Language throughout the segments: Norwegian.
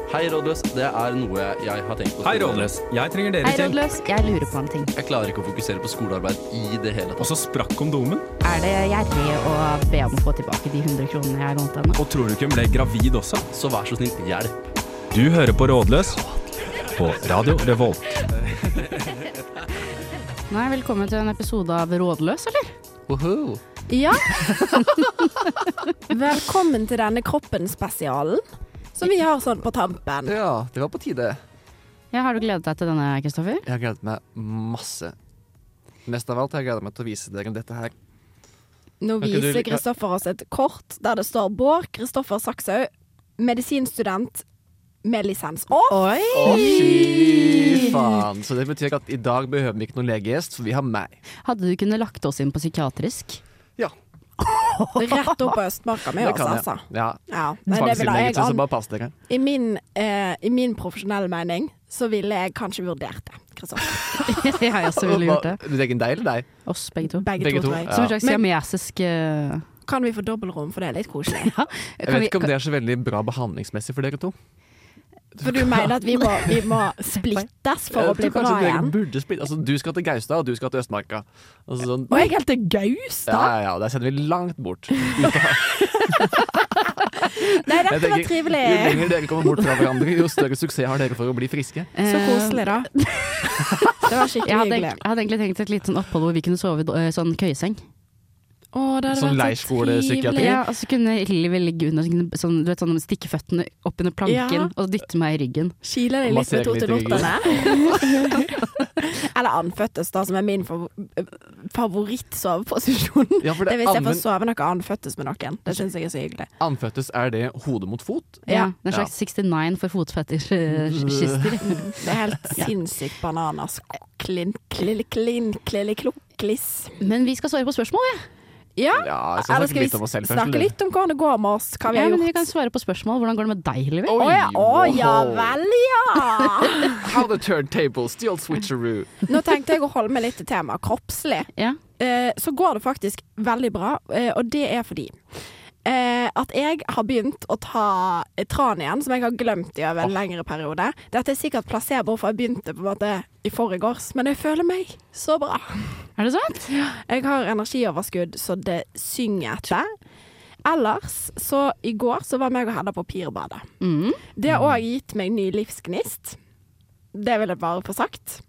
Hei, Rådløs. Det er noe jeg har tenkt på. Hei, Rådløs. Jeg trenger dere Hei, til. Rådløs. Jeg lurer på en ting. Jeg klarer ikke å fokusere på skolearbeid i det hele Og tatt. så sprakk kondomen. Er det gjerrig å be om å få tilbake de 100 kronene jeg lånte henne? Og tror du ikke hun ble gravid også? Så vær så snill, hjelp. Du hører på Rådløs på Radio Revolt. Nei, velkommen til en episode av Rådløs, eller? Woohoo. Ja. Velkommen til denne kroppen-spesialen, som vi har sånn på tampen. Ja, det var på tide. Ja, har du gledet deg til denne, Kristoffer? Jeg har gledet meg masse. Mest av alt har jeg gledet meg til å vise dere dette her. Nå Kan ikke du viser like- Kristoffer oss et kort der det står Bård Kristoffer Sakshaug, medisinstudent med lisens. Oi! Å, fy faen. Så det betyr at i dag behøver vi ikke noen legegjest, for vi har meg. Hadde du kunnet lagt oss inn på psykiatrisk? Ja, Rett opp på Østmarka med det oss, kan jeg. altså. Ja, Ja, men det ville jeg tvangsinnleggelse, så bare pass dere. I min profesjonelle mening så ville jeg kanskje vurdert det, Kristoffer. Jeg også ville gjort det. Legge deg eller deg? Oss, begge to. Begge to, tror jeg. Som en slags Men- siamesisk Kan vi få dobbeltrom, for det er litt koselig. Jeg vet ikke om det er så veldig bra behandlingsmessig for dere to. For du mener at vi må splittes for å bli Jeg tror bra kanskje dere igjen? burde splitte. Altså, du skal til Gaustad, og du skal til Østmarka. Altså, sånn. Og jeg helt til Gaustad? Ja, der sender vi langt bort. Nei, Jeg dette var tenker, trivelig. Jo lenger dere kommer bort fra hverandre, jo større suksess har dere for å bli friske. Så koselig, da. Det var skikkelig Jeg hyggelig. hadde egentlig tenkt et lite sånn opphold hvor vi kunne sove i sånn køyeseng. Å, det hadde Sånn vært så leirskolepsykiatri. trivelig. Ja, og så kunne livet ligge under sånn, du vet, sånn stikke føttene opp under planken Ja. og dytte meg i ryggen. Kile deg litt Massere med litt i totelottene. Eller anføttes, da, som er min favorittsoveposisjon. Ja, for Det det er hvis jeg får anven- sove noe anføttes med noen. Det syns jeg er så hyggelig. anføttes er det hode mot fot. Ja, det er en Ja. slags 69 for fotfetisjister. Det er helt sinnssykt bananas. Kliss. Men vi skal svare på spørsmål, vi. Ja, Ja, jeg skal eller snakke skal litt om oss vi selv først. snakke eller? litt om hvordan det går med oss? Hva vi Ja, har men vi gjort? kan svare på spørsmål. Hvordan går det med deg, Livi? Oi, Å ja wow. vel, ja! How the turntables, the old switcheroo. Nå tenkte jeg å holde meg litt til temaet kroppslig. Ja. Så går det faktisk veldig bra, og det er fordi at jeg har begynt å ta tran igjen, som jeg har glemt i over en lengre periode. Dette er sikkert placebo, for jeg begynte på en måte i forgårs, men jeg føler meg så bra. Er det sant? Jeg har energioverskudd, så det synger etter. Ellers, så i går så var meg og Hedda på Pirbadet. Mm. Det har også gitt meg ny livsgnist. Det vil jeg bare få sagt.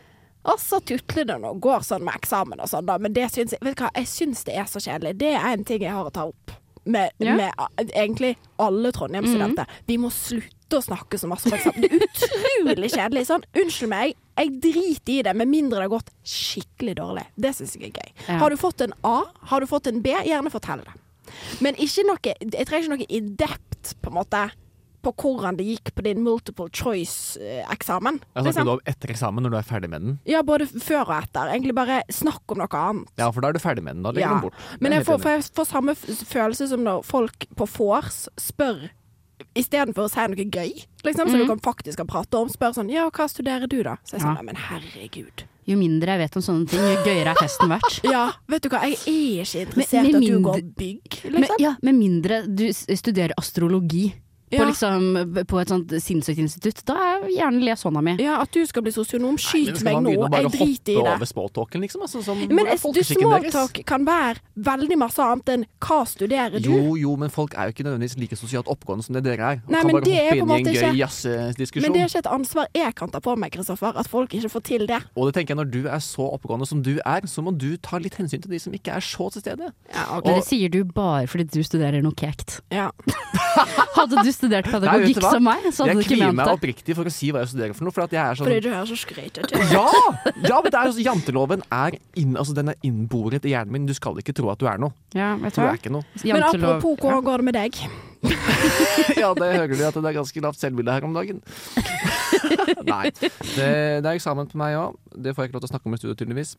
Og så tutler det nå, går sånn med eksamen og sånn da, men det syns jeg, vet du hva, jeg syns det er så kjedelig. Det er en ting jeg har å ta opp med egentlig alle Trondheim-studenter. Vi må slutte å snakke så masse om eksamen. Det er utrolig kjedelig. Sånn, unnskyld meg, jeg driter i det, med mindre det har gått skikkelig dårlig. Det syns jeg er gøy. Ja. Har du fått en A, har du fått en B, gjerne fortell det. Men ikke noe, jeg trenger ikke noe i-depth, på en måte, på hvordan det gikk på din multiple choice-eksamen. Jeg snakker du om etter eksamen når du er ferdig med den? Ja, både før og etter. Egentlig bare snakk om noe annet. Ja, for da er du ferdig med den. Da legger Ja. den bort. Men Det er jeg får, helt for jeg får samme følelse som når folk på vors spør, istedenfor å si noe gøy, liksom, så du kan faktisk kan prate om, spør sånn, ja, hva studerer du da? Så jeg sånn, Ja. men herregud. Jo mindre jeg vet om sånne ting, jo gøyere er festen verdt. Ja, vet du hva, jeg er ikke interessert Men- i at med du mindre- går bygg, Men, liksom. ja, med mindre du studerer astrologi på, Ja. liksom, på et sånt sinnssykt institutt, da er gjerne les hånda mi. Ja, at du skal bli sosionom, skyt Men skal meg man nå, begynne å bare jeg driter i hoppe det. over smalltalken, liksom? Altså, som, Men hvor er folkeskikken deres? smalltalk kan være veldig masse annet enn hva studerer du? Jo, men folk er jo ikke nødvendigvis like sosialt oppgående som det dere er. Og Nei, kan men bare det er hoppe på en inn i en måte gøy ikke- jazzdiskusjon. Men det er ikke et ansvar jeg kan ta på meg, Kristoffer, at folk ikke får til det. Og det tenker jeg, når du er så oppegående som du er, så må du ta litt hensyn til de som ikke er så til stede. Ja, Men det sier du bare fordi du studerer noe kekt. Ja. Hadde du studert Nei, vet pedagogikk du hva? som meg, så hadde Jeg du ikke kvier ment meg det. oppriktig for å si hva jeg studerer for noe, for at jeg er sånn Fordi du er så skrytete. Ja, men det er altså, janteloven er den er innboret i hjernen min. Du skal ikke tro at du er noe. Ja, vet Du du er hva? ikke noe. Men Jantelov- apropos, hvordan går det med deg? Ja, det hører du at det er ganske lavt selvbilde her om dagen. Nei. Det er eksamen på meg òg. Det får jeg ikke lov til å snakke om i studio, tydeligvis.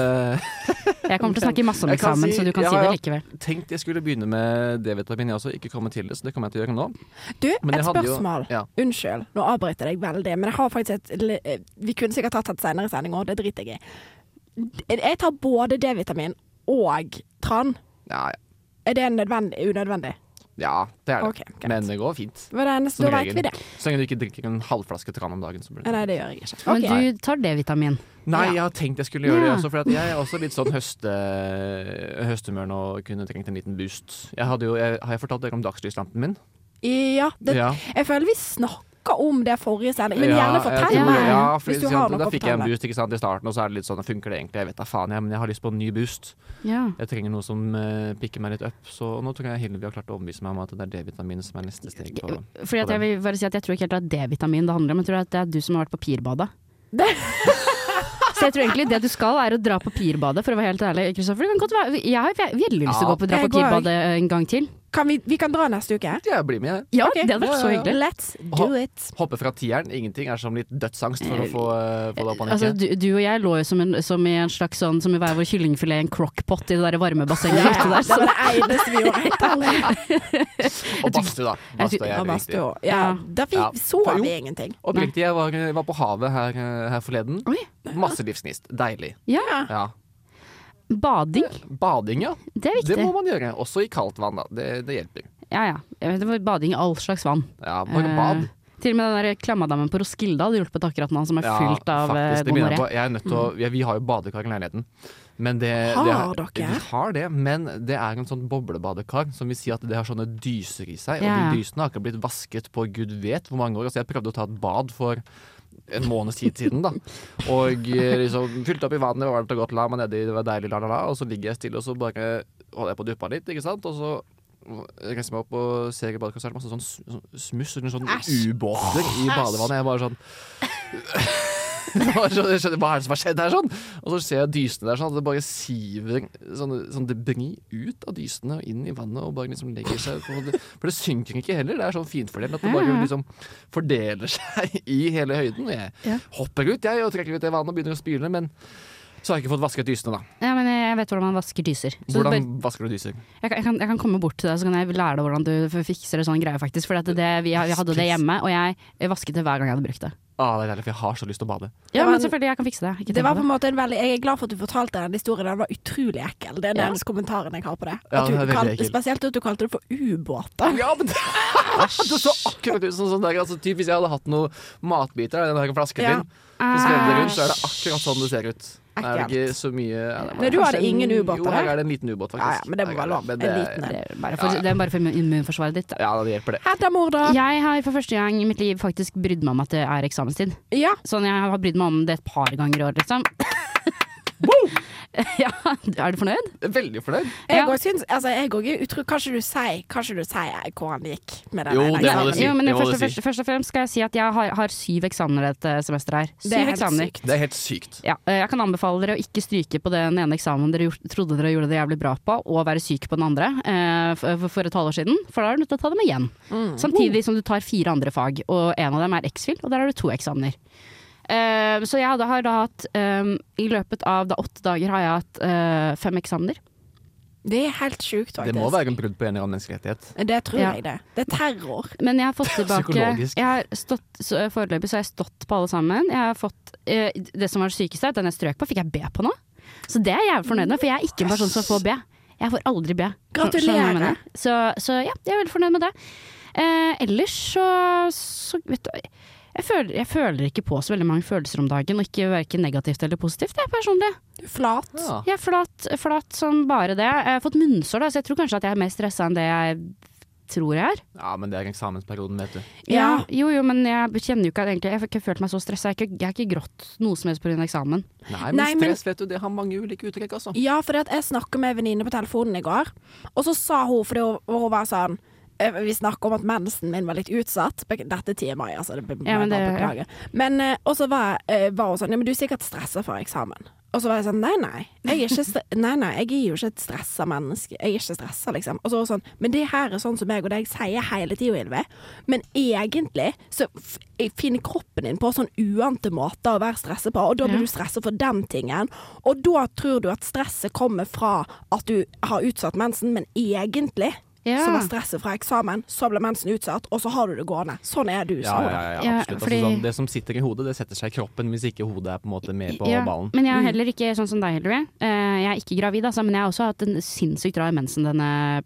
Jeg kommer til å snakke masse om Jeg kan eksamen, si- så du kan ja, si det ja. likevel. Tenkte jeg skulle begynne med D-vitamin, jeg også. Ikke komme til det, så det kommer jeg til å gjøre nå. Du, Men jeg et hadde jo- spørsmål. ja. Unnskyld, nå avbryter jeg deg veldig, men jeg har faktisk vi kunne sikkert tatt et senere sending også, det driter jeg i. Jeg tar både D-vitamin og tran. Ja, ja. Er det unødvendig? Ja, det er det. Ok, greit. Men det går fint. Hva er det eneste, Som da vet regel. vi det. Så lenge du ikke drikker en halvflaske tran om dagen. Så blir det. Nei, det gjør jeg ikke. Men Ok. du tar D-vitamin. Nei, Ja. jeg har tenkt jeg skulle gjøre det Ja. også, for at jeg er også litt sånn høsthumør nå og kunne trengt en liten boost. Har jeg fortalt dere om dagslyslampen min? Ja, Ja. jeg føler vi snakka om det forrige sending, men Ja, gjerne jeg fortell tror- meg ja, for hvis du ikke har sant, noe Da å fikk jeg en fortelle. boost ikke sant, i starten, og så er det litt sånn, funker det egentlig? Jeg vet da faen, men jeg har lyst på en ny boost. Ja. Jeg trenger noe som pikker meg litt opp, så nå tror jeg Hillevi har klart å overbevise meg om at det er D-vitamin som er neste steg. Fordi at jeg vil bare si at jeg tror ikke helt at det er D-vitamin det handler om, jeg tror at det er du som har vært på pirbadet. Så jeg tror egentlig det du skal er å dra på pirbadet, for å være helt ærlig, Kristoffer. Det kan godt være, jeg har veldig lyst til å dra jeg på går. pirbadet en gang til. Vi kan dra neste uke? Jeg blir med, jeg. Ja, Ok. det hadde vært så Ja, ja, ja. hyggelig. Let's do it. Hoppe fra tieren. Ingenting er som litt dødsangst for å få det opp og Altså, nikke. du og jeg lå jo som i en slags sånn, som i hver vår kyllingfilet i en crockpot i det der varme bassenget Ja, ute der. det var det eneste vi gjorde, helt ærlig. Og badstue, da. Badstue er Ja, jævlig badstue viktig. også. Ja, da Ja. så Jo. vi ingenting. Oppriktig, jeg var på havet her forleden. Oi. Masse livsgnist. Deilig. Ja, Ja. bading, Bading, ja. det er Det viktig. må man gjøre. Også i kaldt vann, da. Det hjelper. Ja, ja. Jeg vet, det var bading i all slags vann. Ja, bare bad. Til og med den der klammadammen på Roskilde hadde hjulpet akkurat nå, som er Ja, fylt av faktisk, det begynner jeg gonoré. på. Jeg er nødt til å, vi har jo badekar i leiligheten. Men Har dere? Vi har det, men det er en sånn boblebadekar som vil si at det har sånne dyser i seg. Ja. Og de dysene har ikke blitt vasket på gud vet hvor mange år. Altså, jeg prøvde å ta et bad for en måneds tid siden, da. Og liksom fylte opp i vannet, det var varmt og godt, la meg nedi, det var deilig, og så ligger jeg stille, og så bare holder jeg på å duppe litt, ikke sant. Og så reiser jeg meg opp og ser i badekaret, så er det masse sånn smuss eller sånn Æsj. ubåter i badevannet. Jeg bare sånn jeg skjønner, hva er det som har skjedd her, sånn? Og så ser jeg dysene der, sånn at det bare siver sånn debris ut av dysene og inn i vannet og bare liksom legger seg på det. For det synker ikke heller, det er sånn finfordelt at det bare liksom fordeler seg i hele høyden. Jeg hopper ut, jeg, og trekker ut det vannet og begynner å spyle, men så har jeg ikke fått vasket dysene, da. Ja, men jeg vet hvordan man vasker dyser. Så Hvordan vasker du dyser? jeg kan komme bort til deg, så kan jeg lære deg hvordan du fikser det sånn greie, faktisk. For vi hadde det hjemme, og jeg vasket det hver gang jeg hadde brukt det. Det er deilig, for jeg har så lyst til å bade. Ja, var men en- selvfølgelig, jeg kan fikse det. Ikke Det tenk var på på en måte en veldig Jeg er glad for at du fortalte den historien. Den var utrolig ekkel. Det er den eneste kommentaren jeg har på det. Ja, At du den er veldig ekkel. spesielt at du kalte det for ubåter. Ja, men det så akkurat ut som sånn der, altså, typ, hvis jeg hadde hatt noen matbiter i den her flasken Ja. din, så skrev det rundt, så er det akkurat sånn det ser ut. Det er Ekkelt. ikke så mye ja, det er Nei, du kanskje hadde ingen ubåter, Jo, her da? er det en liten ubåt, faktisk. Ja, ja, men det må være lov. Men En liten en. det. Det er bare for immunforsvaret ditt. Ja, det hjelper det. Hedda Morda. Jeg har for første gang i mitt liv faktisk brydd meg om at det er eksamenstid. Ja. Sånn, jeg har brydd meg om det et par ganger i år, liksom. Ja, er du fornøyd? Veldig fornøyd. Jeg Ja. òg syns jeg òg utro. Kanskje du sier hvordan det gikk med den Jo, ene det må eksamen? du si. Jo, men det må du først og fremst skal jeg si at jeg har 7 eksamener dette semesteret her. Det er 7 helt eksamener. sykt. Det er helt sykt. Ja, jeg kan anbefale dere å ikke stryke på den ene eksamen dere trodde dere gjorde det jævlig bra på, og være syk på den andre for et halvår siden, for da er du nødt til å ta dem igjen. Samtidig som du tar 4 andre fag, og en av dem er X-Fil, og der har du 2 eksamener. Så jeg har da hatt i løpet av 8 dager har jeg hatt 5 eksamener. Det er helt sjukt, faktisk. Det må være en brudd på en eller annen menneskerettighet. Det tror Ja. jeg det. Det er terror. Men jeg har fått tilbake Psykologisk. jeg har foreløpig så har jeg stått på alle sammen. Jeg har fått det som var det sykeste, den jeg strøk på, fikk jeg B på nå. Så det er jeg jævlig fornøyd med, for jeg er ikke en person som får B. Jeg får aldri B. Gratulerer. Skjønner du hva jeg mener? Så ja, jeg er veldig fornøyd med det. Ellers så vet du, jeg føler ikke på så veldig mange følelser om dagen, og ikke hverken negativt eller positivt, jeg personlig. Du er flat. Ja. Jeg er flat som bare det. Jeg har fått munnsår, da, så jeg tror kanskje at jeg er mer stressa enn det jeg tror jeg er. Ja, men det er eksamensperioden, vet du. Ja, jo, men jeg kjenner jo ikke at egentlig, jeg har ikke følt meg så stressa. Jeg har ikke grått noe som helst pga. eksamen. Nei, men Nei, men- stress, vet du, det har mange ulike uttrykk, altså. Ja, for jeg snakket med en venninne på telefonen i går, og så sa hun, fordi hun var sånn vi snakket om at mensen min var litt utsatt. Dette TMI, altså. Ja, men det- beklager. Men og så var hun sånn, ja, men du er sikkert stresset for eksamen. Og så var jeg sånn, nei, jeg er jo ikke et stresset menneske. Jeg er ikke stresset, liksom. Og så var hun sånn, men det her er sånn som jeg og deg sier hele tiden, Ylve. Men egentlig så finner kroppen din på sånn uante måter å være stresset på, og da blir du stresset for den tingen. Og da tror du at stresset kommer fra at du har utsatt mensen, men egentlig Ja. så var stresset fra eksamen, så ble mensen utsatt, og så har du det gående. Sånn er du, sa hun. Ja, Ja, absolutt. fordi- Altså, sånn, det som sitter i hodet, det setter seg i kroppen hvis ikke hodet er på en måte med på Ja, ballen. men jeg er heller ikke sånn som deg, Hillary. Jeg er ikke gravid, altså, men jeg har også hatt en sinnssykt rar mensen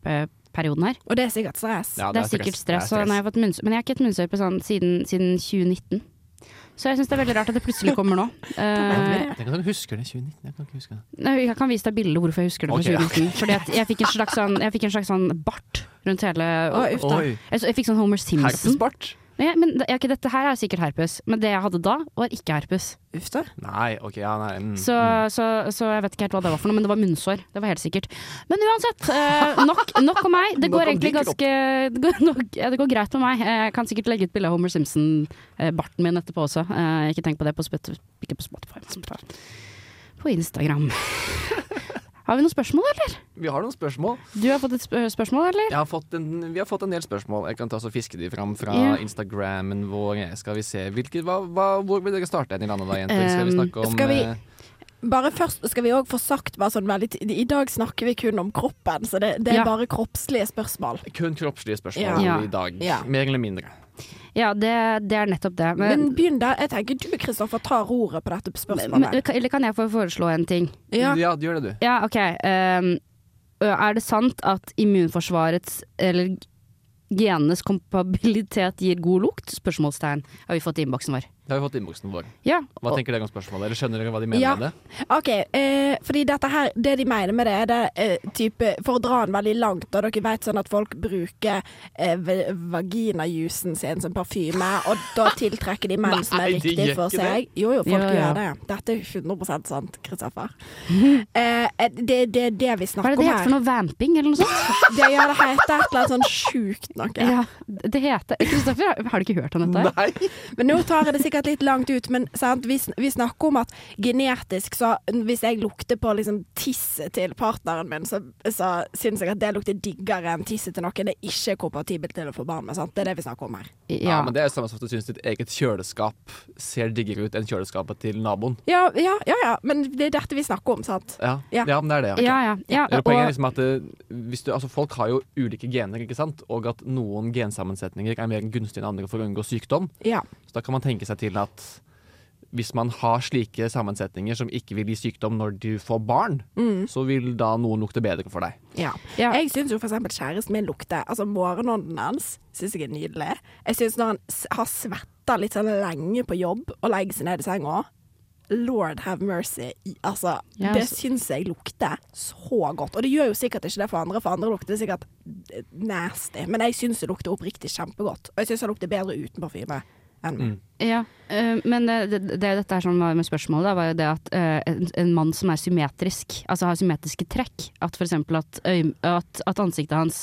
perioden her. Og det er sikkert stress. Ja, Det er sikkert stress. Og nå har jeg fått men jeg har ikke hatt munnsår på sånn siden 2019. Så jeg synes det er veldig rart at det plutselig kommer nå. Tenk at du husker det i 2019. Jeg kan ikke huske det. Jeg kan vise deg bildet hvorfor jeg husker det fra 2019. Fordi at jeg fikk en slags sånn bart rundt hele Oi. Jeg fikk sånn Homer Simpson. Herpesbart? Ja, men dette her er sikkert herpes. Men det jeg hadde da, var ikke herpes. Uff da. Nei, ok, ja, nei. Så jeg vet ikke helt hva det var for noe, men det var munnsår. Det var helt sikkert. Men uansett, nok om meg. Det Nok går om egentlig din det går greit med meg. Jeg kan sikkert legge ut bilde av Homer Simpson-barten min etterpå også. Ikke tenk på det ikke på Spotify, men på Instagram. Har vi noen spørsmål, eller? Vi har noen spørsmål. Du har fått et spørsmål, eller? Vi har fått en del spørsmål. Jeg kan ta og fiske de fram fra Instagrammen vår. Skal vi se. Hvor vil dere starte i landet da, jenter? Skal vi snakke om Bare først skal vi også få sagt sånn veldig I dag snakker vi kun om kroppen, så det er bare kroppslige spørsmål. Kun kroppslige spørsmål i dag. Ja. Mer eller mindre. Ja, det er nettopp det. Men begynn der. Jeg tenker du, Kristoffer, tar ordet på dette spørsmålet. Eller kan jeg få foreslå en ting? Ja, gjør det du. Ja, ok. Er det sant at immunforsvarets eller genenes kompabilitet gir god lukt? Spørsmålstegn har vi fått i innboksen vår. Det har vi fått i innboksen vår. Ja. Hva tenker dere om spørsmålet? Eller skjønner dere hva de mener med det? Ok, fordi dette her, det de mener med det er type, for å dra den veldig langt, og dere vet sånn at folk bruker vaginajusen sin som parfyme, og da tiltrekker de menn som er riktig for seg. Jo, folk gjør det. Dette er 100% sant, Kristoffer. Det er det vi snakker om her. Hva er det heter for noe vamping, eller noe sånt? Det heter et eller annet sånn sjukt noe. Ja, det heter Kristoffer, har du ikke hørt om dette? Nei. Men nå tar jeg det sikkert litt langt ut, men sant, vi snakker om at genetisk, så hvis jeg lukter på liksom tisset til partneren min, så synes jeg at det lukter diggere enn tisset til noen det ikke er kompatibelt til å få barn med, sant? Det er det vi snakker om her. Ja, men det er samme som at du synes ditt eget kjøleskap ser diggere ut enn kjøleskapet til naboen. Ja, men det er dette vi snakker om, sant? Ja, men det er det. Okay. Ja. Poenget er liksom at folk har jo ulike gener, ikke sant? Og at noen gensammensetninger er mer gunstige enn andre for å unngå sykdom. Ja. Så da kan man tenke seg til at hvis man har slike sammensetninger som ikke vil gi sykdom når du får barn, så vil da noen lukte bedre for deg. Ja. Jeg synes jo for eksempel kjæresten min lukter, altså morgenånden hans synes jeg er nydelig. Jeg synes når han har svettet litt sånn lenge på jobb og legger seg ned i senga, Lord have mercy. Altså, det synes jeg lukter så godt. Og det gjør jo sikkert ikke det for andre lukter det sikkert nasty. Men jeg synes det lukter oppriktig kjempegodt. Og jeg synes det lukter bedre uten parfyme. Ja, men dette er sånn med spørsmålet da, var jo det at en mann som er symmetrisk, altså har symmetriske trekk, at for eksempel at ansiktet hans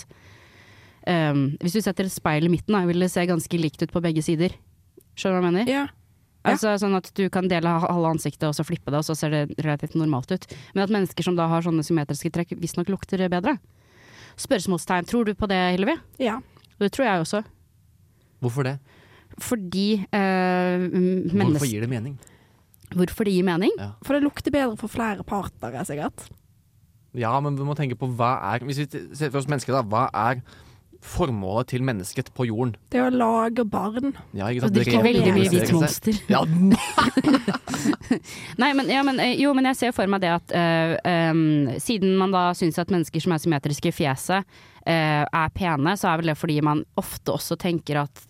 hvis du setter et speil i midten da, vil det se ganske likt ut på begge sider. Skjønner du hva jeg mener? Ja. Altså sånn at du kan dele halve ansiktet og så flippe det, og så ser det relativt normalt ut. Men at mennesker som da har sånne symmetriske trekk visst nok lukter bedre. Spørsmålstegn, tror du på det, Hilvi? Ja. Det tror jeg også. Hvorfor det? Fordi Hvorfor gir det mening? Hvorfor det gir mening? Ja. For det lukter bedre for flere partnere, sikkert. Ja, men vi må tenke på hvis vi ser for oss mennesker da, hva er formålet til mennesket på jorden? Det er å lage barn. Ja, ikke Og sant? drikke veldig mye hvitt monster. Ja, Nei, men jeg ser for meg det at siden man da synes at mennesker som er symmetriske i fjeset er pene, så er vel det fordi man ofte også tenker at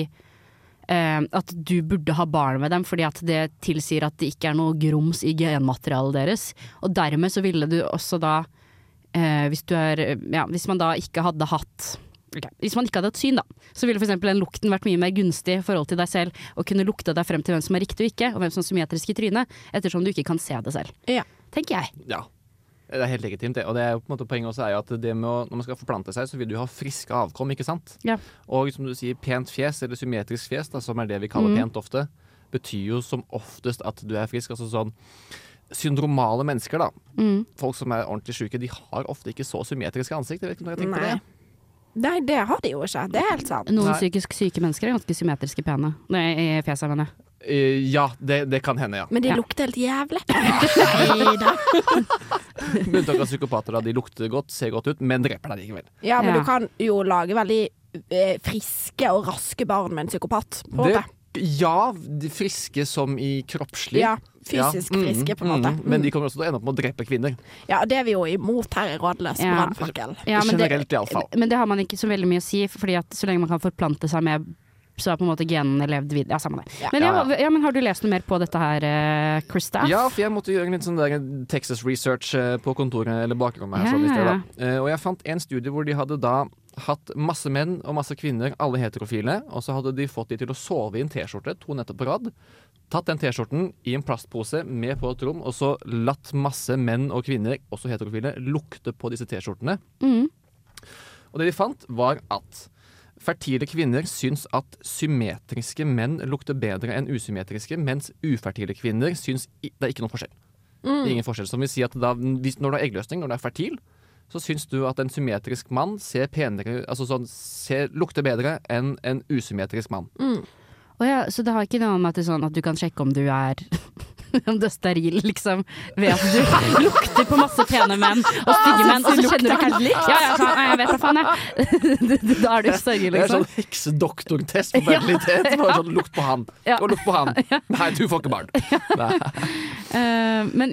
at du burde ha barn med dem, fordi at det tilsier at det ikke er noe grums i genmaterialet deres. Og dermed så ville du også da hvis man da ikke hadde hatt hvis man ikke hadde hatt syn da, så ville for eksempel den lukten vært mye mer gunstig i forhold til deg selv, og kunne lukte deg frem til hvem som er riktig og ikke, og hvem som er symmetrisk i trynet, ettersom du ikke kan se det selv. Ja. Tenker jeg. Ja. Det er helt legitimt det. Og det er jo på en måte poenget også er jo at det med når man skal forplante seg, så vil du ha friske avkom, ikke sant? Ja. Og som du sier, pent fjes, eller symmetrisk fjes, da, som er det vi kaller pent ofte, betyr jo som oftest at du er frisk. Altså sånn syndromale mennesker da, folk som er ordentlig syke, de har ofte ikke så symmetriske ansikt. Jeg vet ikke om dere tenker på det. Nei, det har de jo ikke. Det er helt sant. Noen psykisk syke mennesker er ganske symmetriske pene. Nei, i fjeset, mener jeg. Ja, det kan hende, ja. Men de lukter helt jævlig. Med unntak av psykopater, da. De lukter godt, ser godt ut, men dreper deg likevel. Ja, men Ja. du kan jo lage veldig friske og raske barn med en psykopat, på en måte. Ja, de friske som i kroppslig. Ja. fysisk friske, på en måte. Men de kommer også til å ende opp med å drepe kvinner. Ja, det er vi jo imot her i Rådløs brannfakkel. Ja, Generelt i alle fall. Men det har man ikke så veldig mye å si, fordi at så lenge man kan forplante seg med, så har på en måte genene levd videre. Ja, samme det. Ja. Men har du lest noe mer på dette her, Krista? Ja, for jeg måtte gjøre en litt sånn der Texas research på kontoret, eller bakrommet her, sånn i sted, da. Og jeg fant en studie hvor de hadde da hatt masse menn og masse kvinner, alle heterofile, og så hadde de fått de til å sove i en t-skjorte, 2 netter på rad, tatt den t-skjorten i en plastpose med på et rom, og så latt masse menn og kvinner, også heterofile, lukte på disse t-skjortene. Og det de fant var at fertile kvinner syns at symmetriske menn lukter bedre enn usymmetriske, mens ufertile kvinner syns det er ikke noen forskjell. Ingen forskjell, som vil si at da, når du har eggløsning, når du er fertil, så syns du at en symmetrisk mann ser penere, altså sånn, lukter bedre enn en usymmetrisk mann. Så det har ikke noe med at, sånn at du kan sjekke om du er om du er steril, liksom, ved at du lukter på masse pene menn og stygge menn, og så kjenner du helt likt. Jeg vet da faen, jeg. Da er du steril, liksom. Det er sånn heksedoktortest på fertilitet. Bare sånn, lukt på han. Og lukt på han. Nei, du får ikke barn. Men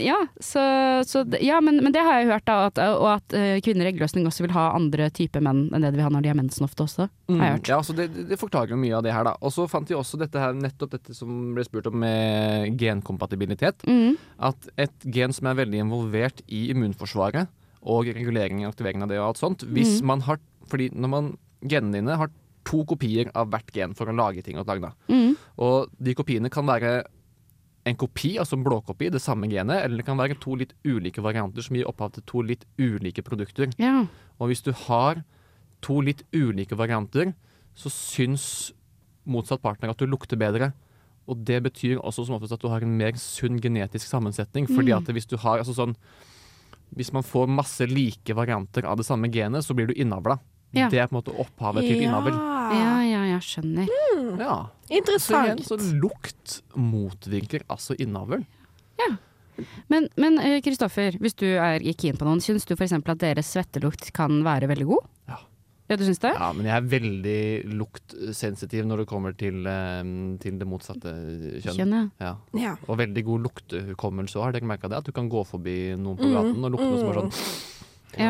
det har jeg hørt, da, og at kvinner i eggløsning også vil ha andre typer menn enn det de vil ha når de har mensen ofte også, har jeg hørt. Ja, så det forklarer jo mye av det her, da. Og så fant de også nettopp dette som ble spurt om med genkompatibilitet. At et gen som er veldig involvert i immunforsvaret og regulering og aktivering av det og alt sånt, hvis man har, fordi genene dine har 2 kopier av hvert gen for å lage ting og lage det. Og de kopiene kan være en kopi, altså en blåkopi, det samme genet, eller det kan være 2 litt ulike varianter som gir opphav til 2 litt ulike produkter. Ja. Og hvis du har 2 litt ulike varianter, så syns motsatt partner at du lukter bedre. Og det betyr også som oftest at du har en mer sunn genetisk sammensetning. Fordi at hvis du har, altså sånn, hvis man får masse like varianter av det samme genet, så blir du innavla. Ja. Det er på en måte opphavet til innavl. Jeg skjønner. Ja. Interessant. Så lukt motvirker altså innavl. Ja. Men Kristoffer, hvis du er keen på noen, syns du for eksempel at deres svettelukt kan være veldig god? Ja, du syns det? Ja, men jeg er veldig luktsensitiv når det kommer til det motsatte kjønn. Ja. Og veldig god luktehukommelse. Har dere merket det? At du kan gå forbi noen på gaten og lukte noe som er sånn. Ja.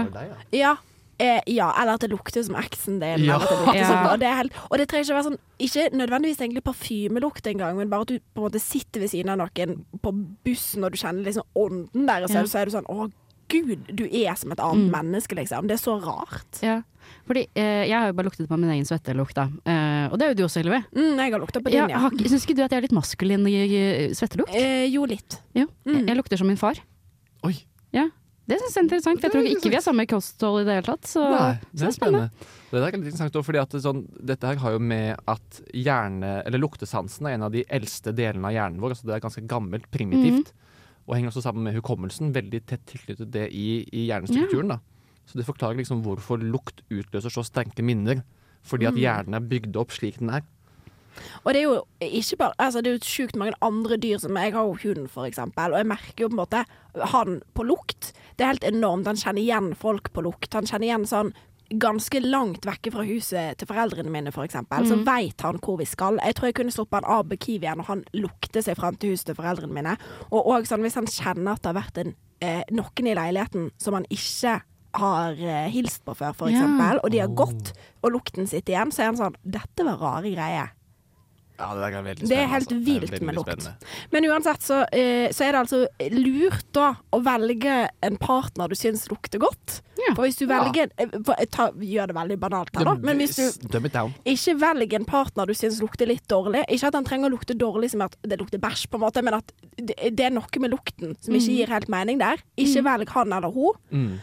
Eller at det lukter som eksen din. Og det trenger ikke være sånn, ikke nødvendigvis egentlig parfymelukt engang, men bare at du på en måte sitter ved siden av noen på bussen og du kjenner liksom ånden der, og så er du sånn, å Gud, du er som et annet menneske, liksom. Det er så rart. Ja. Fordi jeg har jo bare luktet på min egen svettelukt, da. Og det er jo du også, Ylve. Jeg har luktet på din, ja. Syns ikke du at jeg er litt maskulin i svettelukt? Jo, litt. Jo. Jeg lukter som min far. Oi. Ja. Det synes jeg er interessant, for jeg tror ikke vi har samme kosthold i det hele tatt. Så nei, det er spennende. Det er litt interessant også, fordi at dette her har jo med at luktesansen er en av de eldste delene av hjernen vår, altså det er ganske gammelt, primitivt. Og henger også sammen med hukommelsen, veldig tett tilknyttet det i hjernestrukturen. Da. Så det forklarer liksom hvorfor lukt utløser så sterke minner, fordi at hjernen er bygd opp slik den er. Og det er jo ikke bare, altså det er jo sykt mange andre dyr som jeg har jo hund for eksempel, og jeg merker jo på en måte han på lukt. Det er helt enormt, han kjenner igjen folk på lukt, han kjenner igjen sånn ganske langt vekke fra huset til foreldrene mine for eksempel, så vet han hvor vi skal. Jeg tror jeg kunne sluppet han av Kiwi igjen, og han lukter seg frem til huset til foreldrene mine. Og også sånn, hvis han kjenner at det har vært noen i leiligheten som han ikke har hilst på før for eksempel, og de har gått, og lukten sitter igjen, så er han sånn, dette var rare greier. Ja, det er veldig spennende. Det er helt vilt med lukt. Men uansett så er det altså lurt da å velge en partner du synes lukter godt. Ja. For hvis du velger gjør det veldig banalt her da, men hvis du ikke velger en partner du synes lukter litt dårlig, ikke at han trenger å lukte dårlig som at det lukter bæsj på en måte, men at det er noe med lukten som ikke gir helt mening der. Ikke velg han eller hun.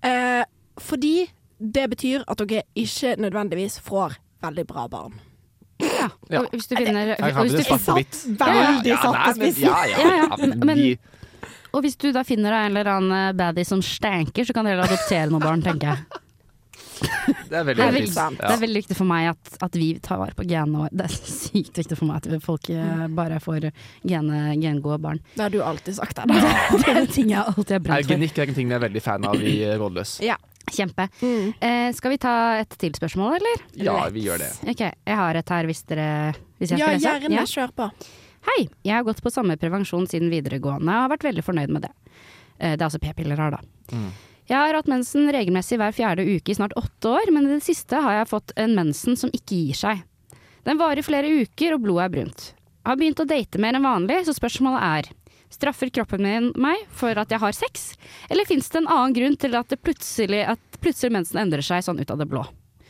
Fordi det betyr at dere ikke nødvendigvis får veldig bra barn. Ja. Og hvis du finner veldig satt på spissen. Og hvis du da finner en eller annen baddie som stanker, så kan dere adoptere noen barn, tenker jeg. Det er veldig viktig. Det er veldig viktig for meg at vi tar vare på genene. Det er sykt viktig for meg at folk bare får gengode barn. Det har du alltid sagt. Det er en ting jeg alltid har brent for. Eugenikk er en ting jeg er veldig fan av i Rådløs. Ja. Kjempe. Skal vi ta et til spørsmål, eller? Ja, vi gjør det. Ok, jeg har et her hvis jeg gjerne kjør på. Hei, jeg har gått på samme prevensjon siden videregående og har vært veldig fornøyd med det. Det er altså p-piller her da. Jeg har hatt mensen regelmessig hver 4. uke i snart 8 år, men i det siste har jeg fått en mensen som ikke gir seg. Den varer flere uker og blodet er brunt. Jeg har begynt å date mer enn vanlig, så spørsmålet straffer kroppen min meg for at jeg har sex, eller finnes det en annen grunn til at plutselig mensen endrer seg sånn ut av det blå?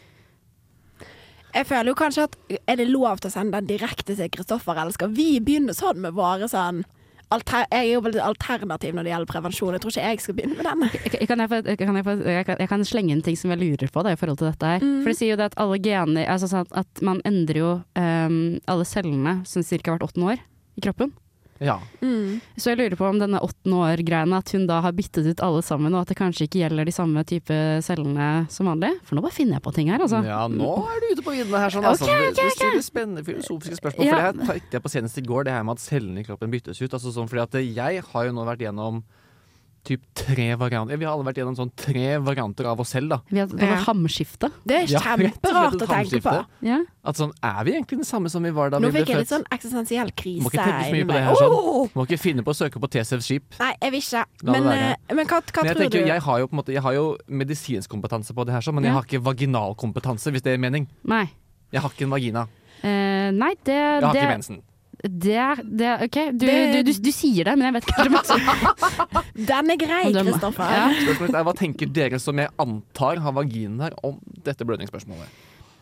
Jeg føler jo kanskje at er det lov til å sende den direkte til Kristoffer, eller skal vi begynne sånn med våre sånn jeg er jo veldig alternativ når det gjelder prevensjon. Jeg tror ikke jeg skal begynne med denne. Jeg kan slenge en ting som jeg lurer på da, i forhold til dette her. For det sier jo det at alle gener, altså sånn at man endrer jo alle cellene som cirka hvert 8. år i kroppen. Ja. Så jeg lurer på om denne 8 år-greiene, at hun da har byttet ut alle sammen, og at det kanskje ikke gjelder de samme type cellene som vanlig. For nå bare finner jeg på ting her, altså. Ja, nå er du ute på viddene her, sånn. Altså. Du stiller spennende filosofiske spørsmål. For det her tenkte jeg på senest i går, det her med at cellene i kroppen byttes ut. Altså sånn, fordi at jeg har jo nå vært gjennom typ 3 varianter. Vi har alle vært gjennom sånn 3 varianter av oss selv, da. Vi har hamskifte. Det er kjemperart å tenke på. Ja. At sånn, vi egentlig den samme som vi var da nå vi ble født? Nå fikk jeg litt sånn eksistensiell krise. Må ikke tenke så mye på det her, sånn. Må ikke finne på å søke på TCF skip. Nei, jeg vil ikke. Men hva tror du? Jeg har jo på en måte, jeg har jo medisinsk kompetanse på det her, sånn, men jeg har ikke vaginalkompetanse, hvis det er mening. Nei. Jeg har ikke en vagina. Nei, jeg har ikke mensen. Ok, du sier det, men jeg vet ikke. Den er grei, Kristoffer. Ja. Spørsmålet hva tenker dere som jeg antar har vaginer om dette blødningsspørsmålet?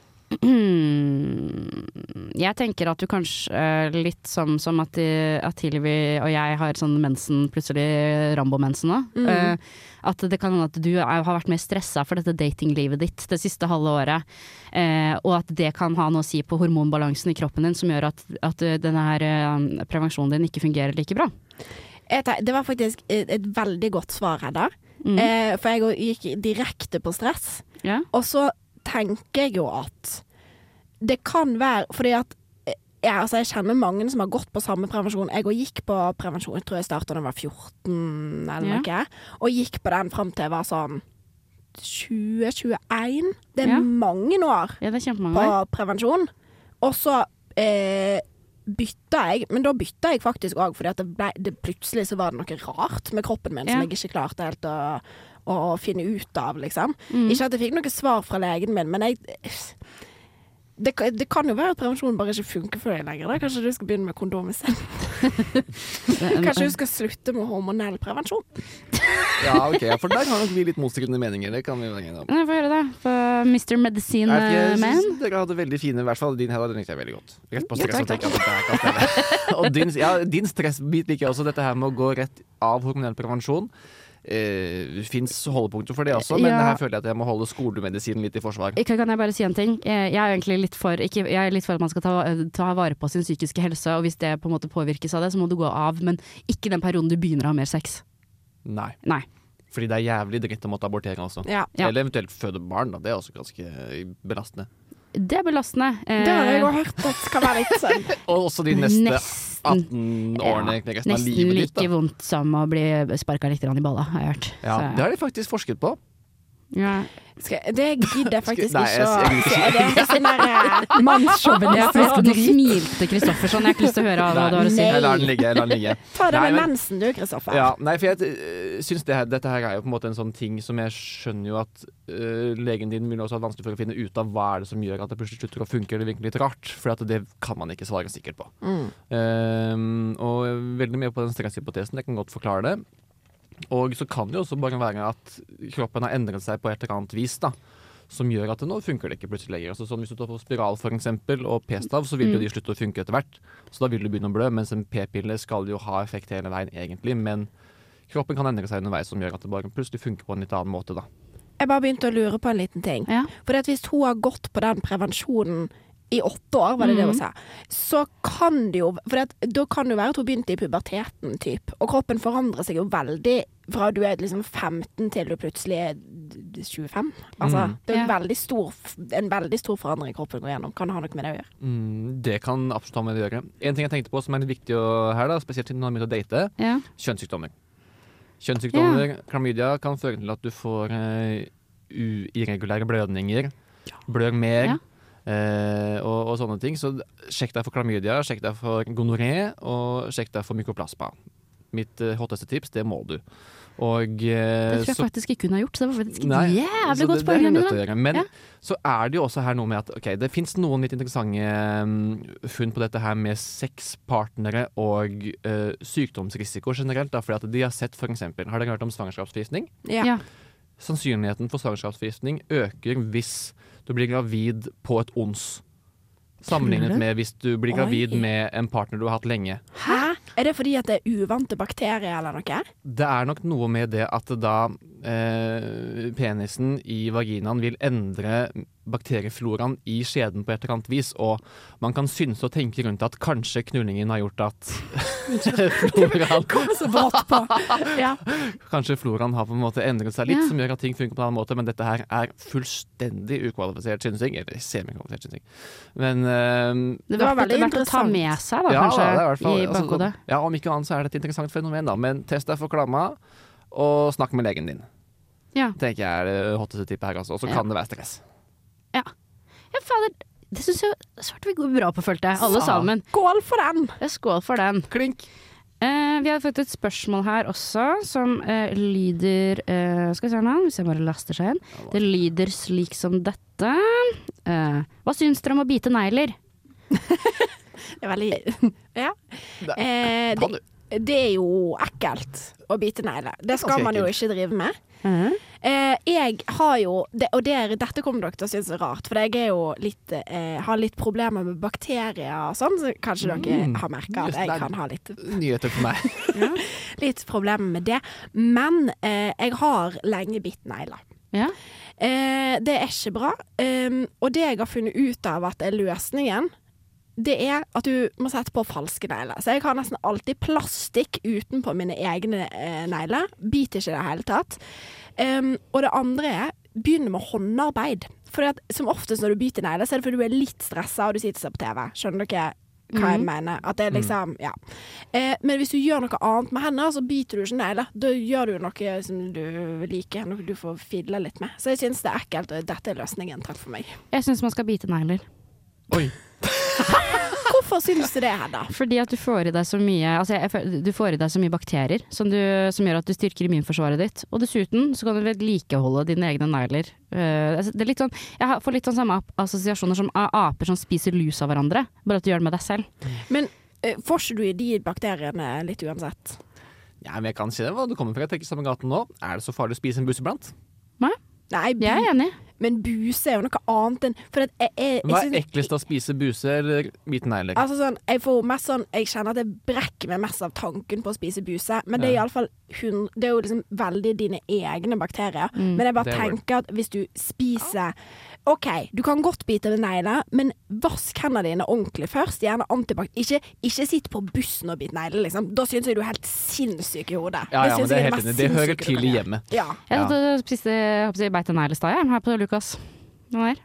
Jeg tenker at du kanskje litt som at Hilvi og jeg har sånn mensen, plutselig Rambo-mensen nå. At det kan hende at du har vært mer stresset for dette datinglivet ditt det siste halve året, og at det kan ha noe å si på hormonbalansen i kroppen din som gjør at denne her prevensjonen din ikke fungerer like bra. Det var faktisk et veldig godt svar, Hedda. For jeg gikk direkte på stress. Ja. Og så tenker jeg jo at det kan være, fordi at jeg kjenner mange som har gått på samme prevensjon. Jeg gikk på prevensjon, jeg tror jeg startet da jeg var 14 eller noe, og gikk på den frem til jeg var sånn 20-21. Det er mange år det er kjempemange på prevensjon. Og så bytta jeg, men da bytta jeg faktisk også, fordi at plutselig så var det noe rart med kroppen min som jeg ikke klarte helt å finne ut av, liksom. Ikke at jeg fikk noe svar fra legen min, men det kan jo være at prevensjonen bare ikke funker for deg lenger. Da. Kanskje du skal begynne med kondom i stedet. Kanskje du skal slutte med hormonell prevensjon. Ja, ok. For der har nok vi litt motstridende meninger. Det kan vi være enige om. Få høre det. For Mr. Medicine Man. Dere hadde veldig fine, i hvert fall din her, den likte jeg veldig godt. Rett på stress og tenke at dette kan stelle. Og din stressbit liker jeg også, dette her med å gå rett av hormonell prevensjon. Det finnes holdepunkter for det også, men her føler jeg at jeg må holde skolemedisinen litt i forsvar. Kan jeg bare si en ting? Jeg er egentlig litt for at man skal ta vare på sin psykiske helse, og hvis det på en måte påvirkes av det, så må du gå av, men ikke den perioden du begynner å ha mer sex. Nei. Nei. Fordi det er jævlig dritt å måtte abortere også. Ja. Eller eventuelt føde barn, da. Det er også ganske belastende. Det er belastende. Det har jeg jo hørt at skal være litt sånn. Og også de neste 18 årene, resten av livet ditt. Nesten like vondt som å bli sparket litt i balla, har jeg hørt. Ja, det har de faktisk forsket på. Ja. Det gidder jeg faktisk Nei, ikke å det er sånn der mannssjåvinistisk drit. Du smilte Kristoffer sånn, jeg har ikke lyst til å høre hva du har å si. Jeg lar den ligge. Ta det med mensen du, Kristoffer. Ja, nei, for jeg synes dette her er jo på en måte en sånn ting som jeg skjønner jo at legen din vil også ha vanskelig for å finne ut av hva er det som gjør at det plutselig slutter å funke, eller virker litt rart, for at det kan man ikke svare sikkert på. Og veldig mye på den stresshypotesen, jeg kan godt forklare det. Og så kan det jo også bare være at kroppen har endret seg på et eller annet vis da, som gjør at det nå funker det ikke plutselig lenger. Altså, sånn, hvis du tar på spiral for eksempel, og p-stav, så vil jo de slutte å funke etter hvert. Så da vil du begynne å blø, mens en p-pille skal jo ha effekt hele veien egentlig. Men kroppen kan endre seg underveis som gjør at det bare plutselig funker på en litt annen måte da. Jeg bare begynte å lure på en liten ting. Ja. For hvis hun har gått på den prevensjonen i 8 år, var det hun sa, så kan det jo, for da kan det jo være at hun begynte i puberteten, typ, og kroppen forandrer seg jo veldig fra du er liksom 15 til du plutselig er 25. Altså, det er en veldig stor forandring kroppen går gjennom. Kan det ha noe med det å gjøre? Det kan absolutt ha med det å gjøre. En ting jeg tenkte på som er litt viktig her da, spesielt når man begynner å date, kjønnssykdommer. Kjønnssykdommer, klamydia, kan føre til at du får irregulære blødninger, blør mer, og sånne ting. Så sjekk deg for klamydia, sjekk deg for gonoré, og sjekk deg for mykoplasma. Mitt hotteste tips, det må du. Og, det tror jeg faktisk ikke hun har gjort, så det var faktisk nei, jævlig godt det er hun nødt til å spørsmål. gjøre. Men Ja. så er det jo også her noe med at det finnes noen litt interessante funn på dette her med sexpartnere og sykdomsrisiko generelt. Da, fordi at de har sett for eksempel, har dere hørt om svangerskapsforgiftning? Ja. Sannsynligheten for svangerskapsforgiftning øker hvis du blir gravid på et ons. Sammenlignet med hvis du blir gravid med en partner du har hatt lenge. Hæ? Er det fordi at det er uvante bakterier eller noe? Det er nok noe med det at da penisen i vaginaen vil endre bakteriefloraen i skjeden på et eller annet vis, og man kan synse og tenke rundt at kanskje knullingen har gjort at floraen Så brått på. Ja. Kanskje floraen har på en måte endret seg litt, Ja. som gjør at ting funker på en annen måte, men dette her er fullstendig ukvalifisert synsing, eller semikvalifisert synsing. Men Det var var veldig verdt å ta interessant. med seg, da, ja, kanskje, det er i hvert fall, i bakhodet. ja, om ikke annet så er det et interessant fenomen, da. Men test deg for klamma, og snakk med legen din. Ja. Tenker jeg er det hotteste tippet her, altså. Og så Ja. kan det være stress. Ja, fader. Det syns jeg svarte vi går bra på, følte jeg. Alle sammen. Skål for den! Skål for den. Klink! Vi har fått et spørsmål her også, som lyder skal vi se nå, hvis jeg bare laster seg inn. Det lyder slik som dette. Hva syns dere om å bite negler? Det er veldig Ja. Kan du? Det er jo ekkelt å bite negler. Det skal Ganske man jo ekkelt. ikke drive med. Jeg har jo dette kommer dere til å synes er rart, for jeg er jo litt har litt problemer med bakterier og sånn, så kanskje dere har merket at Just det. jeg kan ha litt Nyheter for meg. litt problemer med det. Men jeg har lenge bitt negler. Ja. Det er ikke bra. Og det jeg har funnet ut av at er løsningen, det er at du må sette på falske negler. Så jeg har nesten alltid plastikk utenpå mine egne negler. Biter ikke i det hele tatt. Og det andre er begynne med håndarbeid. For som oftest når du biter negler, så er det fordi du er litt stresset og du sitter og ser på TV. Skjønner dere hva jeg mener? At det er liksom, ja. Men hvis du gjør noe annet med henne, så biter du ikke negler. Da gjør du noe som du liker, noe du får fidle litt med. Så jeg synes det er ekkelt, og dette er løsningen. Takk for meg. Jeg syns man skal bite negler. Oi. Hvorfor synes du det, Hedda? Fordi at du får i deg så mye du får i deg så mye bakterier som gjør at du styrker immunforsvaret ditt. Og dessuten så kan du vedlikeholde dine egne negler. Det er litt sånn, jeg får litt sånn samme assosiasjoner som aper som spiser lus av hverandre, bare at du gjør det med deg selv. Men får ikke du i de bakteriene litt uansett? Ja, men jeg kan si det. Hva du kommer fra, jeg tenker samme gaten nå. Er det så farlig å spise en bus iblant? Nei, Jeg er enig. men buse er jo noe annet enn for at jeg Hva er synes- eklest å spise buse eller bite negler? Altså sånn, jeg får mest sånn Jeg kjenner at jeg brekker meg mest av tanken på å spise buse, men det er Ja. i alle fall det er jo liksom veldig dine egne bakterier. Men jeg bare Det er tenker at hvis du spiser OK, du kan godt bite med negler, men vask hendene dine ordentlig først. Gjerne antibac. Ikke sitt på bussen og bit negler, liksom. Da syns jeg du er helt sinnssyk i hodet. Ja, ja, men synes det er jeg helt mest enig. Det hører sinnssyke du til kan i gjøre. hjemmet. Ja. Jeg Ja. satt og spiste beite negl i stad, jeg. Her på Lukas. Nå her.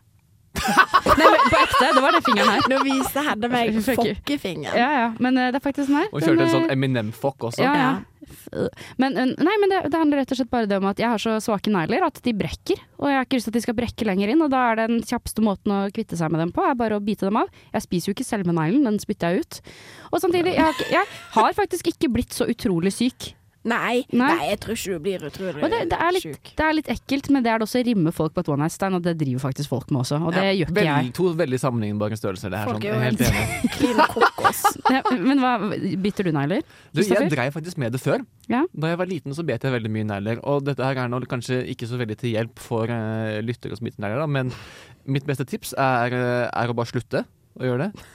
Nei, men på ekte. Det var den fingeren her. Nå viser Hedda meg Fucker. fokkefingeren. Ja. Men det er faktisk den her. Og kjørte en Den, sånn Eminem-fokk også. Ja. Men det handler rett og slett bare om at jeg har så svake negler at de brekker. Og jeg har ikke lyst til at de skal brekke lenger inn, og da er den kjappeste måten å kvitte seg med dem på, er bare å bite dem av. Jeg spiser jo ikke selve neglen, den spytter jeg ut. Og samtidig, jeg har faktisk ikke blitt så utrolig syk. Nei, jeg tror ikke du blir utrolig Og det er litt ekkelt, men det er det også å rimme folk på et one night stand, og det driver faktisk folk med også, og det gjør ikke jeg. To veldig sammenlignbare størrelser, det her. Folk Sånn. er Jeg jo er helt enig. klin kokos. Ja, men bytter du negler? Du, jeg Kristoffer? dreiv faktisk med det før. Ja. Da jeg var liten så bet jeg veldig mye negler, og dette her er nå kanskje ikke så veldig til hjelp for lyttere som biter negler, da, men mitt beste tips er å bare slutte å gjøre det.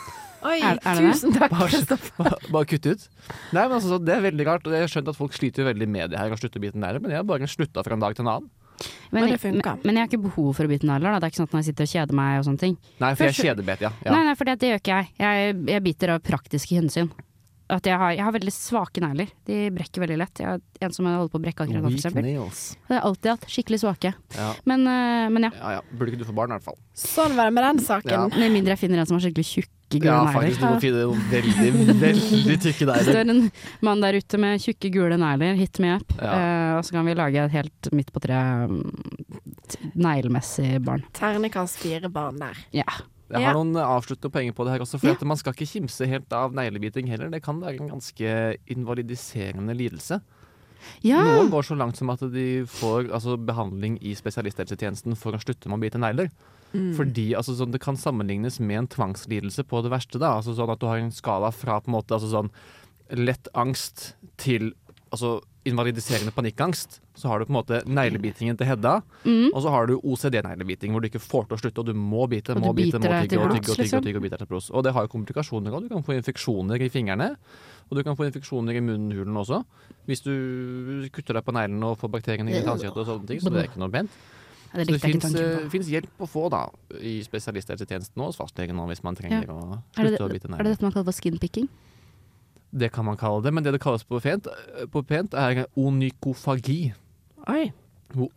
Oi, Er det det? tusen takk, Kristoffer. Bare kutte ut. Nei, men altså, det er veldig rart, og jeg har skjønt at folk sliter veldig med det her å slutte å bite negler, men jeg har bare slutta fra en dag til en annen. Men det funker. Men jeg har ikke behov for å bite negler, da. Det er ikke sånn at når jeg sitter og kjeder meg og sånne ting. Nei, for jeg Først- kjedebet, ja. Nei, for det gjør ikke jeg. Jeg biter av praktiske hensyn. at jeg har veldig svake negler. De brekker veldig lett. Jeg har en som holder på å brekke akkurat nå, for eksempel. nails. Det har jeg alltid hatt. Skikkelig svake. Ja. Men ja. Ja. Burde ikke du få barn, i hvert fall. Sånn var det med den saken. Ja. Med mindre jeg finner en som har skikkelig tjukke, gule negler. Faktisk. Du må finne noen veldig, veldig tykke negler. Står en mann der ute med tjukke, gule negler, hit me up. Ja. Og så kan vi lage et helt midt på treet neglemessig barn. Ternekast 4 barn der. Ja. Jeg har noen avsluttende poenger på det her også, for at man skal ikke kimse helt av neglebiting heller. Det kan være en ganske invalidiserende lidelse. Ja. Noen går så langt som at de får behandling i spesialisthelsetjenesten for å slutte med å bite negler. Fordi sånn, det kan sammenlignes med en tvangslidelse på det verste. Da. Sånn at du har en skala fra på en måte, sånn, lett angst til invalidiserende panikkangst. Så har du på en måte neglebitingen til Hedda, og så har du OCD-neglebiting, hvor du ikke får til å slutte, og du må bite, må tygge og bite til blods. Og det har jo komplikasjoner også. Du kan få infeksjoner i fingrene, og du kan få infeksjoner i munnhulen også, hvis du kutter deg på neglen og får bakteriene i tannkjøttet og sånne ting, så det er ikke noe pent. Ja, så det finnes hjelp å få da, i spesialisthelsetjenesten og hos fastlegen nå, hvis man trenger å slutte å bite negler. Er det dette man kaller for skinpicking? Det kan man kalle det, men det kalles på pent er onykofagi. Oi. Hvor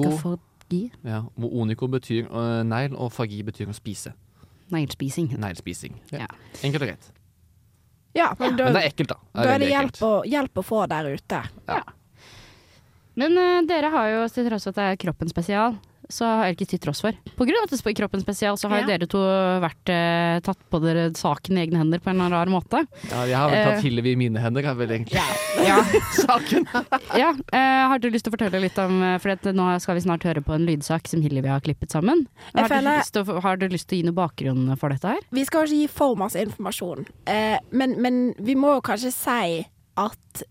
onyko betyr negl, og fagi betyr å spise. Neglspising. Ja. Enkelt og greit. Ja, men det er ekkelt, da. Da er det hjelp å få der ute. Ja. Men dere har jo, til tross for at det er Kroppen spesial, så har jeg ikke til tross for. På grunn av at det er Kroppen spesial, så har jo dere to vært tatt på dere saken i egne hender på en eller annen rar måte. Ja, jeg har vel tatt Hillevi i mine hender, er vel egentlig saken. Har du lyst til å fortelle litt om, for nå skal vi snart høre på en lydsak som Hillevi har klippet sammen. Har du lyst til å gi noe bakgrunn for dette her? Vi skal ikke gi for masse informasjon, men vi må jo kanskje si at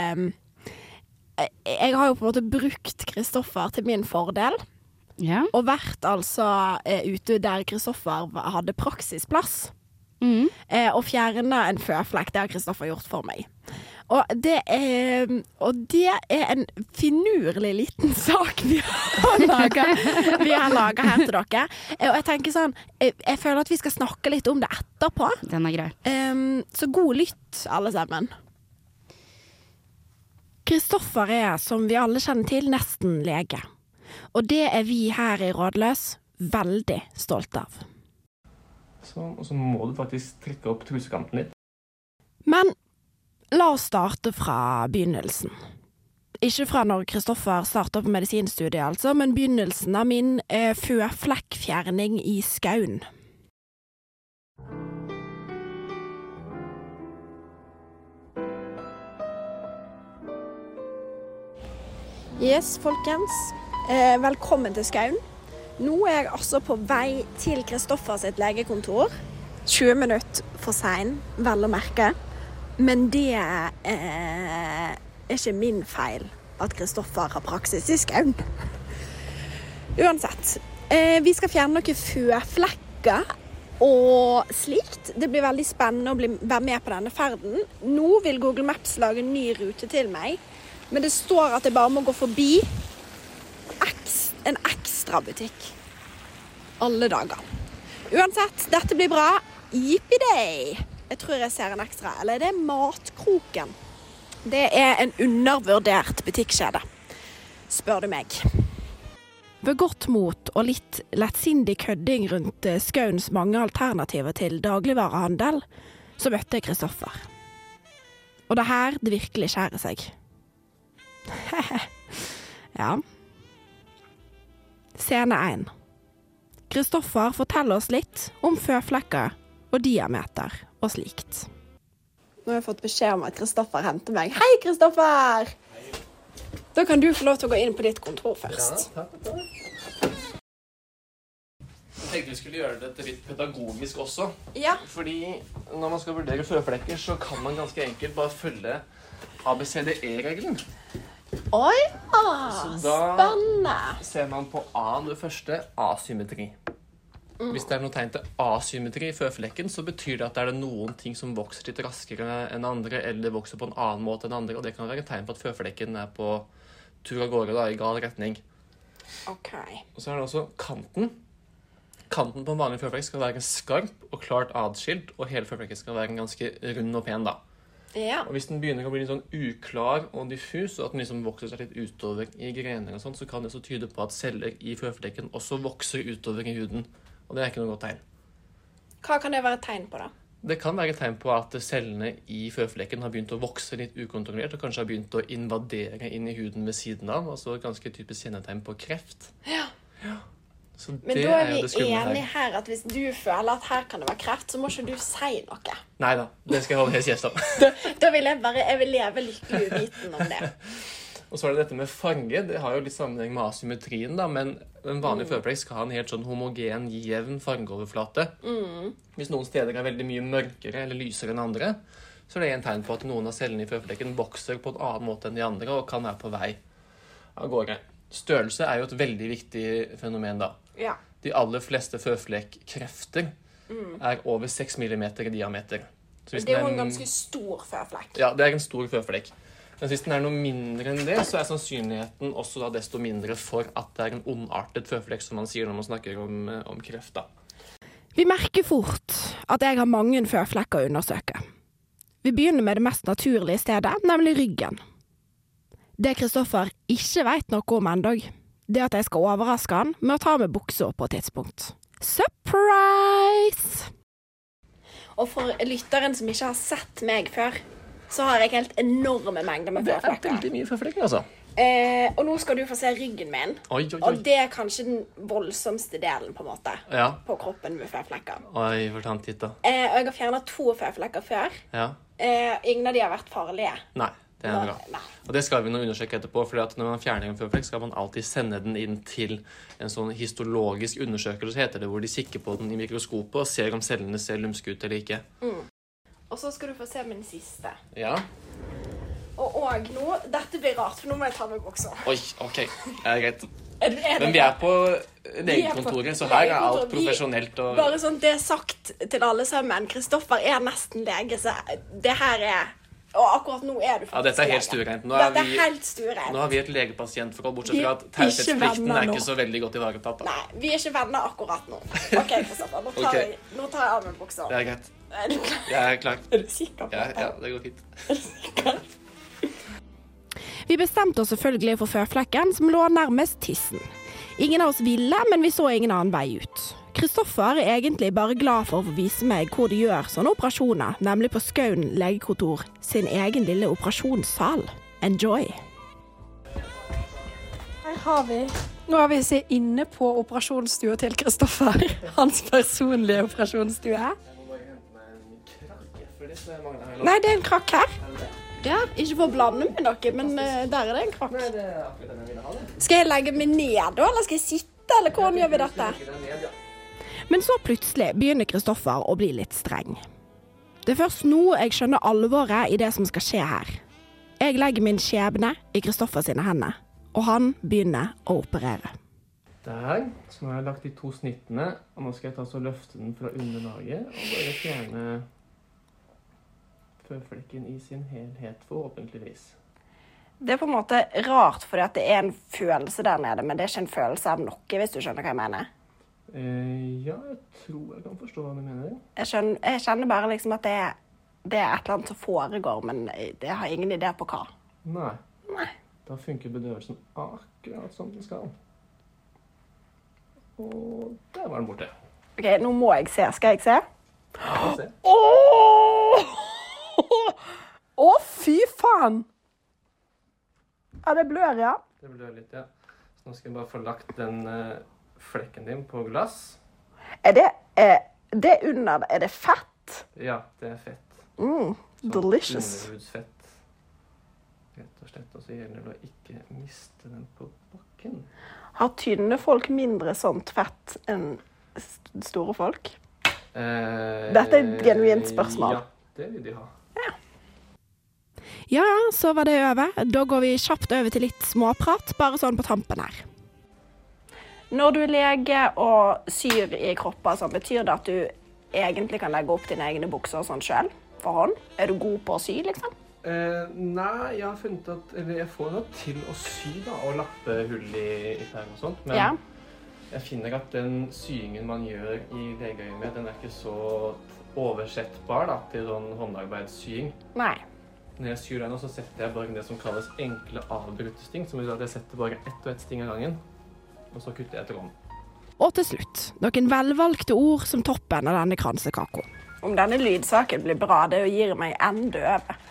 jeg har jo på en måte brukt Kristoffer til min fordel. Ja. Og vært ute der Kristoffer hadde praksisplass. Og fjerne en føflekk, det har Kristoffer gjort for meg. Og det er en finurlig liten sak vi har laget her til dere. Og jeg tenker sånn, jeg føler at vi skal snakke litt om det etterpå. Den er grei. Så god lytt, alle sammen. Kristoffer er, som vi alle kjenner til, nesten lege. Og det er vi her i Rådløs veldig stolte av. Sånn, og så må du faktisk trekke opp trusekanten litt. Men la oss starte fra begynnelsen. Ikke fra når Kristoffer startet på medisinstudiet altså, men begynnelsen av min føflekkfjerning i Skaun. Yes, folkens. Velkommen til Skaun. Nå er jeg altså på vei til Kristoffer sitt legekontor. 20 minutter for sein, vel å merke. Men det er ikke min feil at Kristoffer har praksis i Skaun. Uansett, vi skal fjerne noen føflekker og slikt. Det blir veldig spennende å være med på denne ferden. Nå vil Google Maps lage en ny rute til meg, men det står at jeg bare må gå forbi en ekstra butikk alle dager. Uansett, dette blir bra. Yippie-day! Jeg tror jeg ser en ekstra. Eller det er Matkroken. Det er en undervurdert butikkjede, spør du meg. Ved godt mot og litt lettsindig kødding rundt Skauns mange alternativer til dagligvarehandel, så møtte jeg Kristoffer. Og det her det virkelig skjærer seg. Ja. Scene 1. Kristoffer forteller oss litt om føflekker og diameter og slikt. Nå har jeg fått beskjed om at Kristoffer henter meg. Hei, Kristoffer! Da kan du få lov til å gå inn på ditt kontor først. Ja, takk. Jeg tenkte vi skulle gjøre dette litt pedagogisk også. Ja. Fordi når man skal vurdere føflekker, så kan man ganske enkelt bare følge ABCDE-regelen. Oi, spennende! Da ser man på A det første, asymmetri. Hvis det er noe tegn til asymmetri i føflekken, så betyr det at det er noen ting som vokser litt raskere enn andre, eller vokser på en annen måte enn andre, og det kan være et tegn på at føflekken er på tur av gårde i gal retning. Ok. Og så er det også kanten. Kanten på en vanlig føflekk skal være skarp og klart adskilt, og hele føflekken skal være ganske rund og pen da. Ja. Og hvis den begynner å bli litt sånn uklar og diffus, og at den liksom vokser seg litt utover i grener og sånt, så kan det så tyde på at celler i føflekken også vokser utover i huden. Og det er ikke noe godt tegn. Hva kan det være et tegn på da? Det kan være et tegn på at cellene i føflekken har begynt å vokse litt ukontrollert, og kanskje har begynt å invadere inn i huden ved siden av, altså ganske typisk kjennetegn på kreft. Ja. Så Men det da er jo vi det skumle enige her at hvis du føler at her kan det være kreft, så må ikke du si noe. Neida, det skal jeg holde helt kjeft om. Da vil jeg vil leve lykkelig uviten om det. Og så er det dette med farge. Det har jo litt sammenheng med asymmetrien, da, men en vanlig føflekk skal ha en helt sånn homogen, jevn fargeoverflate. Hvis noen steder er veldig mye mørkere eller lysere enn andre, så er det en tegn på at noen av cellene i føflekken vokser på en annen måte enn de andre, og kan være på vei av gårde. Størrelse er jo et veldig viktig fenomen da. Ja. De aller fleste føflekkrefter er over 6 millimeter i diameter. Så hvis Det er jo den en ganske stor føflekk. Ja, det er en stor føflekk. Men hvis den er noe mindre enn det, så er sannsynligheten også da desto mindre for at det er en ondartet føflekk, som man sier når man snakker om kreft da. Vi merker fort at jeg har mange føflekker å undersøke. Vi begynner med det mest naturlige stedet, nemlig ryggen. Det Kristoffer ikke vet noe om endog, det at jeg skal overraske han med å ta med bukser på et tidspunkt. Surprise! Og for lytteren som ikke har sett meg før, så har jeg helt enorme mengder med Det er føflekker. veldig mye føflekker, altså. Og nå skal du få se ryggen min. Oi. Og det er kanskje den voldsomste delen på en måte, Ja. på kroppen med føflekker. Oi, fortant hit da. Og jeg har fjernet 2 føflekker før. Ja. Ingen av de har vært farlige. Nei, det er bra. Nei. Og det skal vi nå undersøke etterpå, fordi at når man fjerner en føflekk, skal man alltid sende den inn til en sånn histologisk undersøkelse, heter det, hvor de kikker på den i mikroskopet og ser om cellene ser lumske ut eller ikke. Og så skal du få se min siste. Ja. Og nå, dette blir rart, for nå må jeg ta meg bukser. Oi, ok. Det er greit. Er det Men vi er på legekontoret, så her er alt profesjonelt og... Bare sånn, det er sagt til alle sammen. Kristoffer er nesten lege, så det her er... Og akkurat nå er du faktisk Ja, dette er helt lege. stuereint. Dette er helt stuereint. Nå har vi et legepasientforhold, bortsett Vi er fra at ikke taushetsplikten venner er nå. ikke så veldig godt ivaretatt. da. Nei, vi er ikke venner akkurat nå. Ok, Kristoffer, nå tar, Ok. nå tar jeg av meg bukser. Det er greit. Er du klar? Jeg er klar. Er du sikker på Ja, dette? ja, det går fint. Vi bestemte oss selvfølgelig for føflekken som lå nærmest tissen. Ingen av oss ville, men vi så ingen annen vei ut. Kristoffer er egentlig bare glad for å få vise meg hvor de gjør sånne operasjoner, nemlig på Skaun legekontor sin egen lille operasjonssal. Enjoy! Her har vi. Nå har vi sett inne på operasjonsstua til Kristoffer. Hans personlige operasjonsstue. Nei, det er en krakk her. Ja, ikke for å blande med noe, men der er det en krakk. Skal jeg legge meg ned da, eller skal jeg sitte, eller hvordan gjør vi dette? Men så plutselig begynner Kristoffer å bli litt streng. Det er først nå jeg skjønner alvoret i det som skal skje her. Jeg legger min skjebne i Kristoffer sine hender, og han begynner å operere. Der, så nå har jeg lagt de 2 snittene, og nå skal jeg ta så løfte den fra underlaget, og bare fjerne føflekken i sin helhet, forhåpentligvis. Det er på en måte rart, fordi at det er en følelse der nede, men det er ikke en følelse av noe, hvis du skjønner hva jeg mener. Ja, jeg tror jeg kan forstå hva du mener. Jeg kjenner bare liksom at det er et eller annet som foregår, men jeg har ingen idé på hva. Nei. Nei. Da funker bedøvelsen akkurat som den skal. Og der var den borte. Ok, nå må jeg se. Skal jeg se? La oss se. Å, fy faen! Ja, det blør, ja. Det blør litt, ja. Så nå skal jeg bare få lagt den flekken din på glass. Er det under? Er det fett? Ja, det er fett. Delicious. Underhudsfett. Rett og slett, og så gjelder det å ikke miste den på bakken. Har tynne folk mindre sånt fett enn store folk? Dette er et genuint spørsmål. Ja, det vil de ha. Ja, så var det over. Da går vi kjapt over til litt småprat, bare sånn på tampen her. Når du er lege og syr i kropper, så betyr det at du egentlig kan legge opp dine egne bukser sånn selv, for hånd? Er du god på å sy, liksom? Nei, jeg har funnet at, eller jeg får noe til å sy da, og lappe hull i perm og sånt, men Ja. jeg finner at den syingen man gjør i legeøyemed, den er ikke så oversettbar da, til sånn håndarbeidssying. Nei. Når jeg syr den, så setter jeg bare det som kalles enkle avbrutte sting, som betyr at jeg setter bare ett og ett sting av gangen, og så kutter jeg tråden. Og til slutt, noen velvalgte ord som toppen av denne kransekaka. Om denne lydsaken blir bra, det gir meg enda over.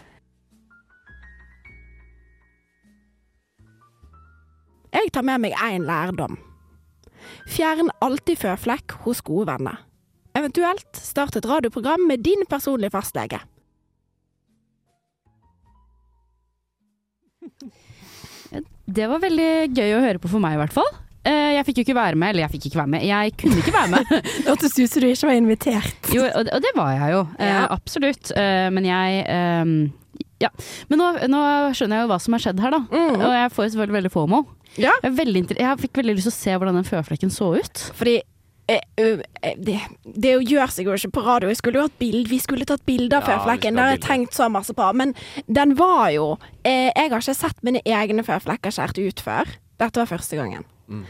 Jeg tar med meg en lærdom. Fjern alltid føflekk hos gode venner. Eventuelt start et radioprogram med din personlige fastlege. Det var veldig gøy å høre på for meg i hvert fall. Jeg fikk jo ikke være med, jeg kunne ikke være med. Det hørtes ut som du ikke var invitert. Jo, og det var jeg jo, absolutt. Men ja. Men nå skjønner jeg jo hva som har skjedd her da. Og jeg får selvfølgelig veldig FOMO. Ja. Jeg fikk veldig lyst til å se hvordan den føflekken så ut. Fordi det gjør seg jo ikke på radio. Vi skulle tatt bilder av føflekken. Det har jeg tenkt så masse på. Men den var jo jeg har ikke sett mine egne føflekker skjært ut før. Dette var første gangen.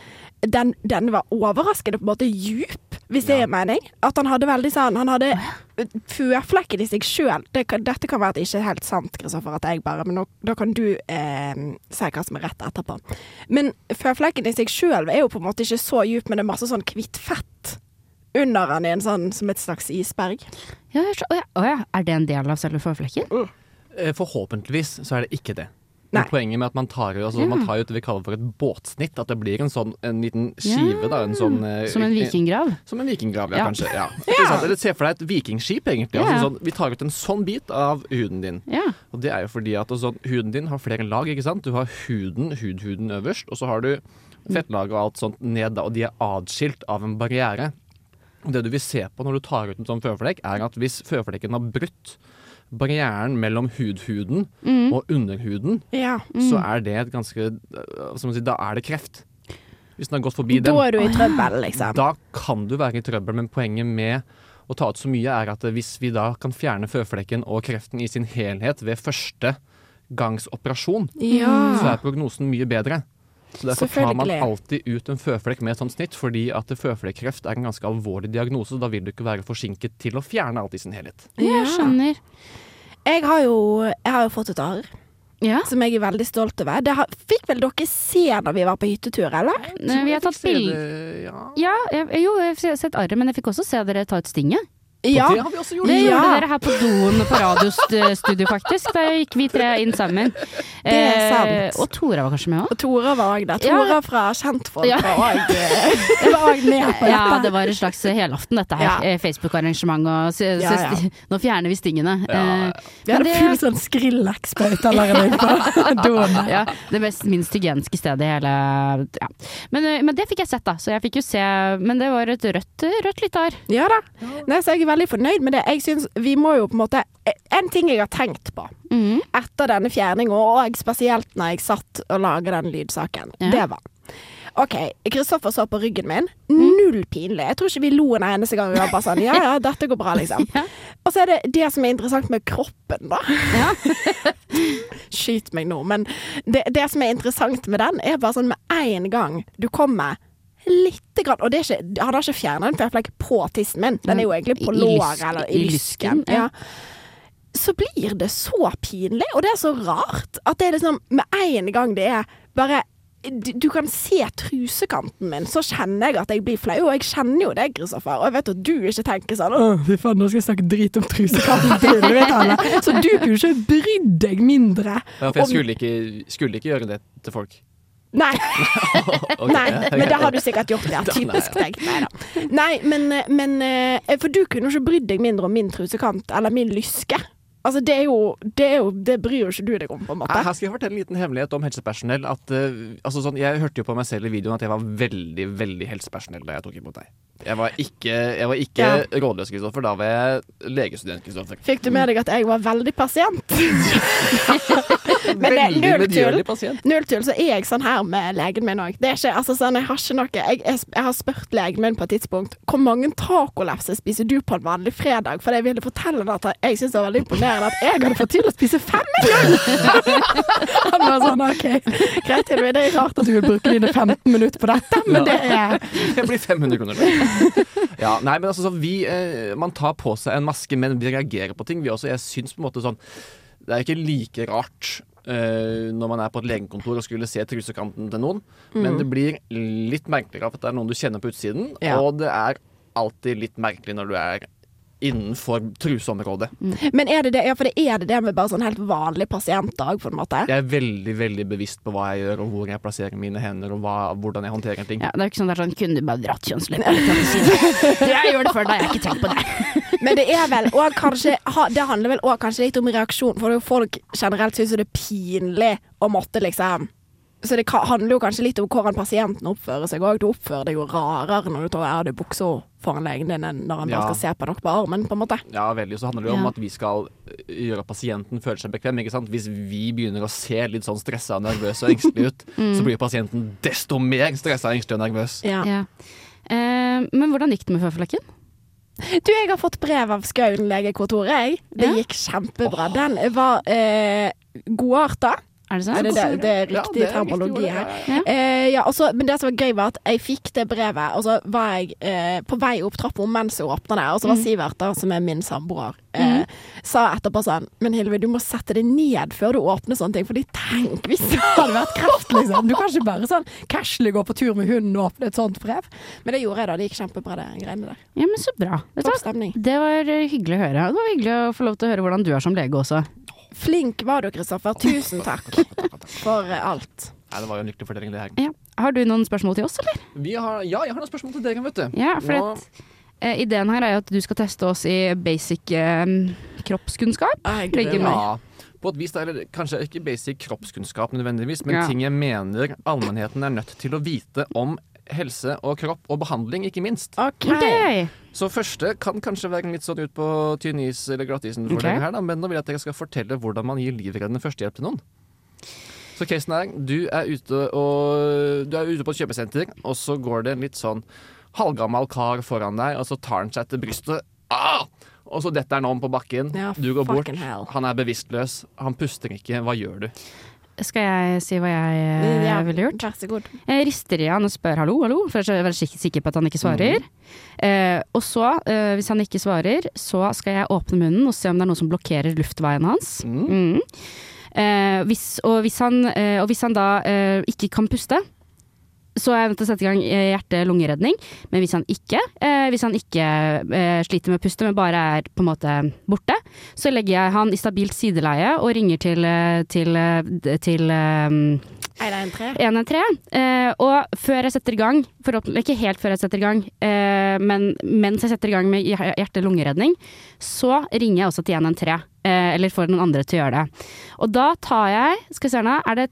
Den var overraskende på en måte djup, hvis det er mening. At han hadde veldig sånn, han hadde føflekken i seg selv. Dette kan være at det ikke er helt sant, Kristoffer, at jeg bare, men da kan du si hva som er rett etterpå. Men føflekken i seg selv er jo på en måte ikke så djup, men det er masse sånn kvitt fett under han i en sånn, som et slags isberg. Ja, er det en del av selve føflekken? Forhåpentligvis så er det ikke det. Men poenget med at man tar jo det vi kaller for et båtsnitt, at det blir en liten skive da, som en vikinggrav? Som en vikinggrav, kanskje. Ja. Eller se for deg et vikingskip egentlig. Vi tar ut en sånn bit av huden din. Og det er jo fordi at huden din har flere lag, ikke sant? Du har hudhuden øverst, og så har du fettlag og alt sånt ned da, og de er adskilt av en barriere. Og det du vil se på når du tar ut en sånn føflekk, er at hvis føflekken har brutt barrieren mellom hudhuden og underhuden, så er det et ganske, da er det kreft. Hvis den har gått forbi den. Da er du i trøbbel, liksom. Da kan du være i trøbbel, men poenget med å ta ut så mye er at hvis vi da kan fjerne føflekken og kreften i sin helhet ved første gangs operasjon, så er prognosen mye bedre. Så derfor tar man alltid ut en føflekk med et sånt snitt, fordi at føflekkreft er en ganske alvorlig diagnose, så da vil du ikke være forsinket til å fjerne alt i sin helhet. Jeg skjønner. Jeg har jo fått et arr, som jeg er veldig stolt over. Det fikk vel dere se når vi var på hyttetur, eller? Vi har tatt bilder. Jeg har sett arret, men jeg fikk også se dere ta ut stinget. Ja, det har vi også gjort. Det gjorde dere her på doen på radiostudio faktisk. Da gikk vi 3 inn sammen. Det er sant. Og Tora var kanskje med også? Og Tora var også der. Tora fra Kjentfolk var også med på dette. Ja, det var en slags helaften dette her. Facebook-arrangement og nå fjerner vi stingene. Vi hadde full sånn Skrillex-spaut allerede på doen. Ja, det minst hygieniske stedet i hele Men det fikk jeg sett da. Så jeg fikk jo se, men det var et rødt litt arr. Ja da. Nei, så jeg veldig fornøyd med det. Jeg synes vi må jo på en måte en ting jeg har tenkt på etter denne fjerningen, og spesielt når jeg satt og laget den lydsaken, det var ok, Kristoffer så på ryggen min, null pinlig. Jeg tror ikke vi lo en eneste gang. Vi var bare sånn, ja, dette går bra liksom. Og så er det som er interessant med kroppen da. Skyt meg nå, men det som er interessant med den er bare sånn med en gang du kommer litt grann, og han har ikke fjernet en føflekk på tissen min, den er jo egentlig på lår eller i lysken, så blir det så pinlig, og det er så rart at det er liksom, med en gang det er bare, du kan se trusekanten min, så kjenner jeg at jeg blir flau, og jeg kjenner jo deg, Kristoffer, og jeg vet at du ikke tenker sånn, fy faen, nå skal jeg snakke drit om trusekanten så du kunne ikke brydd deg mindre. Ja, for jeg skulle ikke gjøre det til folk. Nei. Nei, men det har du sikkert gjort, typisk deg. Nei, men for du kunne jo ikke brydd deg mindre om min trusekant eller min lyske. Altså, det bryr jo ikke du deg om, på en måte. Her skal jeg fortelle en liten hemmelighet om helsepersonell. Jeg hørte jo på meg selv i videoen at jeg var veldig, veldig helsepersonell da jeg tok imot deg. Jeg var ikke rådløs, Kristoffer. Da var jeg legestudent, Kristoffer. Fikk du med deg at jeg var veldig pasient? Men veldig medgjørlig pasient. Null tull, så er jeg sånn her med legen min også. Det er ikke, sånn, jeg har ikke noe jeg har spurt legen min på et tidspunkt hvor mange tacolefser spiser du på en vanlig fredag, for jeg ville fortelle deg at jeg synes det var veldig imponerende at jeg hadde fått til å spise 5 Han var sånn, ok, greit, det er rart at du vil bruke dine 15 minutter på dette, men det blir 500 kroner. Ja, nei, men man tar på seg en maske, men vi reagerer på ting. Jeg synes på en måte sånn Det er ikke like rart når man er på et legekontor og skulle se trusekanten til noen, men det blir litt merkeligere at det er noen du kjenner på utsiden, og det er alltid litt merkelig når du er innenfor truseområdet. Men er det det? Ja, for er det med bare sånn helt vanlig pasientdag, på en måte? Jeg er veldig, veldig bevisst på hva jeg gjør, og hvor jeg plasserer mine hender, og hvordan jeg håndterer ting. Ja, det er jo ikke sånn der sånn, kunne du bare dratt kjønnslepper? Jeg gjør det før deg, jeg har ikke tenkt på det. Men det er vel også kanskje, det handler vel også kanskje litt om reaksjon, for det er jo folk generelt synes det er pinlig å måtte liksom. Så det handler jo kanskje litt om hvordan pasienten oppfører seg også. Du oppfører deg jo rarere når du tar av deg buksa foran legen din enn når han bare skal se på noe på armen, på en måte. Ja, veldig. Så handler det jo om at vi skal gjøre at pasienten føler seg bekvem, ikke sant? Hvis vi begynner å se litt sånn stresset, nervøs og engstelig ut, så blir pasienten desto mer stresset, engstelig og nervøs. Ja. Men hvordan gikk det med føflekken? Du, jeg har fått brev av Skaun legekontor, jeg. Det gikk kjempebra. Den var godartet. Er det sant? Det er riktig terminologi her. Men det som var gøy var at jeg fikk det brevet, og så var jeg på vei opp trappen mens jeg åpnet det, og så var Sivert, som er min samboer, sa etterpå sånn, men Hilve, du må sette det ned før du åpner sånne ting, fordi tenk hvis det hadde vært kreft, liksom. Du kan ikke bare sånn casually gå på tur med hunden og åpne et sånt brev. Men det gjorde jeg da, det gikk kjempebra det greiene der. Ja, men så bra. Topp stemning. Det var hyggelig å høre. Det var hyggelig å få lov til å høre hvordan du er som lege også. Flink var du, Kristoffer. Tusen takk for alt. Nei, det var jo en lykkelig fortelling det her. Ja. Har du noen spørsmål til oss, eller? Jeg har noen spørsmål til dere, vet du. Ja, for ideen her er jo at du skal teste oss i basic kroppskunnskap. På et vis, eller kanskje ikke basic kroppskunnskap nødvendigvis, men ting jeg mener allmennheten er nødt til å vite om helse og kropp og behandling, ikke minst. Okay. Så første kan kanskje være litt sånn ut på tynn is eller glattisen for dere her, da, men nå vil jeg at dere skal fortelle hvordan man gir livreddende førstehjelp til noen. Så casen er, du er ute på et kjøpesenter, og så går det en litt sånn halvgammal kar foran deg, og så tar han seg til brystet. Og så detter han om på bakken. Du går bort, han er bevisstløs, han puster ikke. Hva gjør du? Skal jeg si hva jeg ville gjort? Vær så god. Jeg rister i han og spør hallo, for jeg er veldig sikker på at han ikke svarer. Og så, hvis han ikke svarer, så skal jeg åpne munnen og se om det er noe som blokkerer luftveien hans. Hvis han da ikke kan puste, så er jeg nødt til å sette i gang hjerte-lungeredning. Men hvis han ikke sliter med å puste, men bare er på en måte borte, så legger jeg han i stabilt sideleie og ringer til 113. Og før jeg setter i gang, ikke helt før jeg setter i gang, men mens jeg setter i gang med hjerte-lungeredning, så ringer jeg også til 113. Eller får noen andre til å gjøre det. Og da tar jeg, skal vi se nå, er det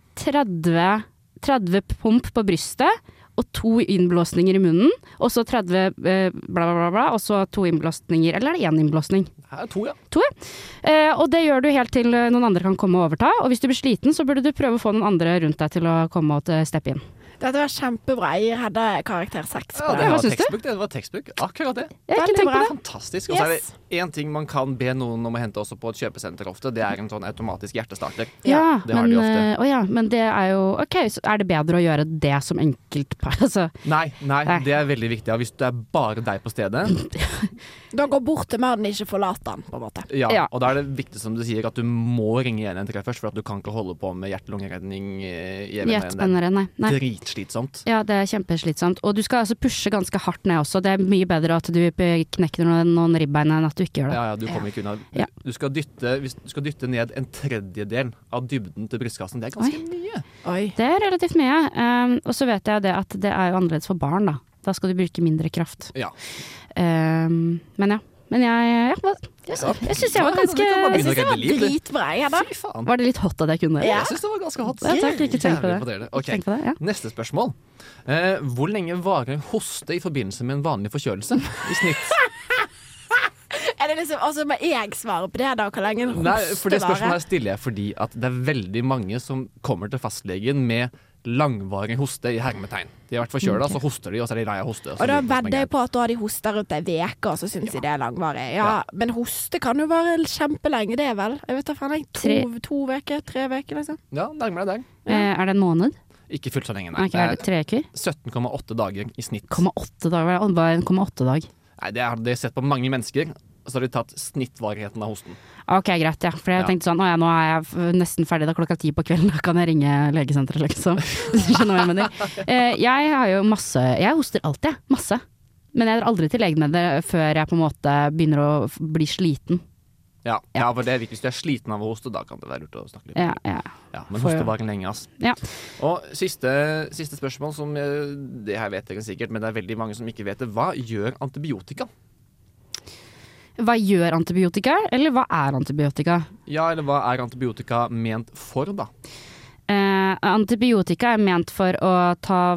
30 pump på brystet og 2 innblåsninger i munnen, og så 30 bla bla bla bla, og så 2 innblåsninger, eller er det 1 innblåsning? Her er 2, ja. 2, ja. Og det gjør du helt til noen andre kan komme og overta, og hvis du blir sliten, så burde du prøve å få noen andre rundt deg til å komme og steppe inn. Dette var kjempebra. Jeg hadde karakter 6 på det. Det var tekstbok. Akkurat det. Jeg har ikke tenkt på det. Fantastisk. Og så er det en ting man kan be noen om å hente også på et kjøpesenter ofte. Det er en sånn automatisk hjertestarter. Ja, det har de ofte. Men det er jo ok, så er det bedre å gjøre det som enkeltpar? Altså. Nei, det er veldig viktig. Hvis det er bare deg på stedet da går bort til mannen, ikke forlat han, på en måte. Ja, og da er det viktig, som du sier, at du må ringe 113 først, for at du kan ikke holde på med hjerte-lungeredning i nei. Dritslitsomt. Ja, det er kjempeslitsomt. Og du skal altså pushe ganske hardt ned også. Det er mye bedre at du knekker noen ribbein enn at du ikke gjør det. Ja, du kommer ikke unna. Du skal dytte ned 1/3 av dybden til brystkassen. Det er ganske mye. Det er relativt mye. Og så vet jeg det at det er jo annerledes for barn, da. Da skal du bruke mindre kraft. Ja. Men jeg synes jeg var dritbra. Var det litt hot at jeg kunne det? Jeg synes det var ganske hot. Takk, ikke tenk på det. Okay. Neste spørsmål. Hvor lenge varer hoste i forbindelse med en vanlig forkjølelse i snitt? Er det liksom, altså må jeg svare på det da, hvor lenge hoste varer? Nei, for det spørsmålet stiller jeg fordi at det er veldig mange som kommer til fastlegen med langvarig hoste i hermetegn. De har vært forkjølet, så hoster de, og så er de lei av hoste. Og da vedder jeg på at da har de hoster rundt en veke, og så synes de det er langvarig. Ja, men hoste kan jo være kjempelenge, det er vel? Jeg vet da faen, 2 veker, 3 veker, liksom. Ja, nærmere deg. Er det en måned? Ikke fullt så lenge, nei. Okay, er det 3 uker? 17,8 dager i snitt. 8 dager? Bare 1,8 dag? Nei, det har jeg sett på mange mennesker. og så har de tatt snittvarigheten av hosten. Ok, greit, ja. For jeg tenkte sånn, nå er jeg nesten ferdig da 10:00 på kvelden, da kan jeg ringe legesenteret, liksom. Hvis du skjønner hva jeg mener. Jeg har jo jeg hoster alltid, masse. Men jeg drar aldri til legen med det før jeg på en måte begynner å bli sliten. Ja, for det er viktig. Hvis du er sliten av å hoste, da kan det være lurt å snakke litt. Ja. Men hoste var lenge, ass. Ja. Og siste spørsmål, som det her vet dere sikkert, men det er veldig mange som ikke vet det. Hva gjør antibiotika? Hva gjør antibiotika, eller hva er antibiotika? Ja, eller hva er antibiotika ment for, da? Antibiotika er ment for å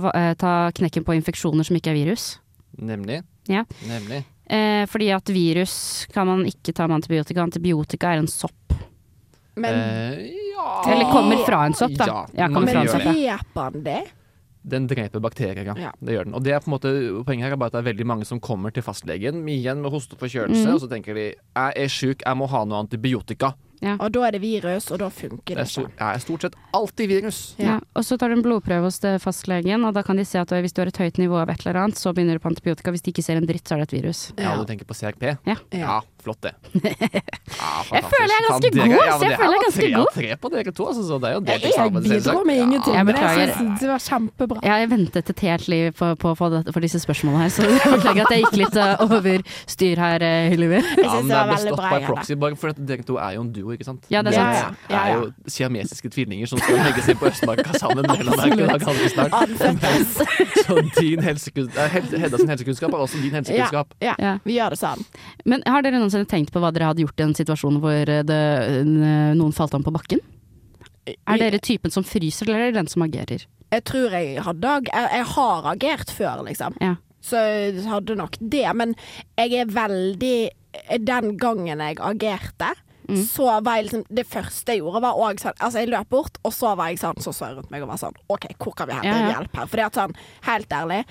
ta knekken på infeksjoner som ikke er virus. Nemlig. Ja. Nemlig. Fordi at virus kan man ikke ta med antibiotika. Antibiotika er en sopp. Men, Eller kommer fra en sopp, da. man Kommer fra en gjør sopp, det. dreper den det? Den dreper bakterier, ja. Det gjør den. Og det er på en måte, poenget her er bare at det er veldig mange som kommer til fastlegen igjen med hoste og forkjølelse, og så tenker de jeg er syk, jeg må ha noe antibiotika. Ja. Og da er det virus, og da funker det ikke. Det er stort sett alltid virus. Ja. Og så tar du en blodprøve hos fastlegen, og da kan de se at hvis du har et høyt nivå av et eller annet, så begynner du på antibiotika. Hvis de ikke ser en dritt, så er det et virus. Ja, du tenker på CRP? Ja. Flott det. Jeg føler jeg er ganske god, så jeg føler jeg er ganske god. Tre på dere to, altså, så det er jo det til Jeg sammen. bidrar med ingenting, jeg men jeg beklager. synes det var kjempebra. Jeg har ventet et helt liv på å få for disse spørsmålene her, så jeg beklager at jeg gikk litt over styr her, Hylliver. Jeg Ja, synes men det det var er veldig bestått bra. by proxy, bare for at dere to er jo en duo, ikke sant? Ja, det er sant. Det er jo siamesiske tvillinger som skal legge seg på Østmarka sammen mellom hver dag ganske snart. Så din Hedda sin helsekunnskap er også din helsekunnskap. Ja, vi gjør det sånn. Men har dere noensinne tenkt på hva dere hadde gjort i en situasjon hvor noen falt om på bakken? Er dere typen som fryser, eller er det den som agerer? Jeg tror jeg har agert før, liksom. Ja. Så jeg hadde nok det. Men jeg er veldig Den gangen jeg agerte, så var jeg liksom det første jeg gjorde, var også sånn altså jeg løp bort, og så var jeg sånn så jeg rundt meg og var sånn OK, hvor kan vi hente hjelp her? For det er sånn, helt ærlig,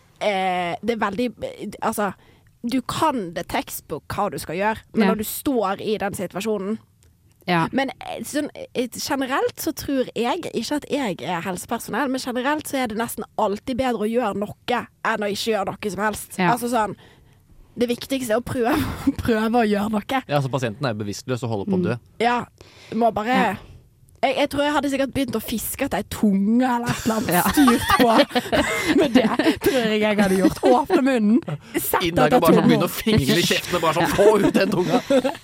det er veldig altså du kan det tekstbok hva du skal gjøre, men når du står i den situasjonen Men sånn, generelt så tror jeg ikke at jeg er helsepersonell, men generelt så er det nesten alltid bedre å gjøre noe enn å ikke gjøre noe som helst. Altså sånn, det viktigste er å prøve å gjøre noe. Ja, så pasienten er bevisstløs og holder på å dø. Ja, må bare Jeg tror jeg hadde sikkert begynt å fiske etter ei tunge eller et eller annet styrt på. Men det tror jeg hadde gjort. Åpne munnen. Inn der og bare sånn begynne å fingre i kjeften og bare sånn få ut den tunga.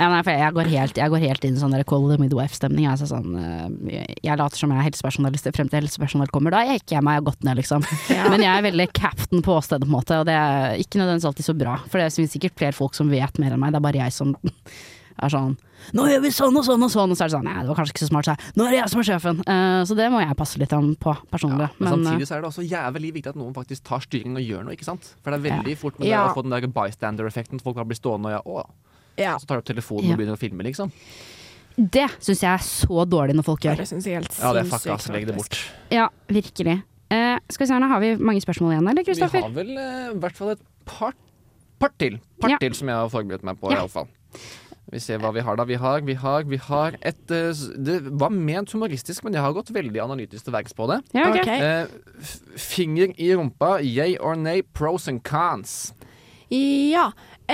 Jeg går helt inn i sånn der call the midwife-stemning. Altså sånn, jeg later som jeg er helsepersonell frem til helsepersonell kommer. Da jeg ikke meg godt ned, liksom. Men jeg er veldig captain på åstedet, på en måte. Og det er ikke nødvendigvis alltid så bra. For det er sikkert flere folk som vet mer enn meg. Det er bare jeg som er sånn nå gjør vi sånn og sånn og sånn, og så er det sånn, nei, det var kanskje ikke så smart, så nå er det jeg som er sjefen. Så det må jeg passe litt på personlig. Men samtidig så er det også jævlig viktig at noen faktisk tar styring og gjør noe, ikke sant? For det er veldig fort med det å få den der bystander-effekten, folk bare blir stående og så tar du opp telefonen og begynner å filme, liksom. Det synes jeg er så dårlig når folk gjør. Det synes jeg helt sinnssykt. Ja, det er fuck ass, legg det bort. Ja, virkelig. Skal vi se, nå har vi mange spørsmål igjen, eller Kristoffer? Vi har vel i hvert fall et par til som jeg har forberedt meg på i alle fall. Vi ser hva vi har da. Vi har et det var ment humoristisk, men jeg har gått veldig analytisk til verks på det. Ja, okay. Finger i rumpa, yay or nay, pros and cons. Ja,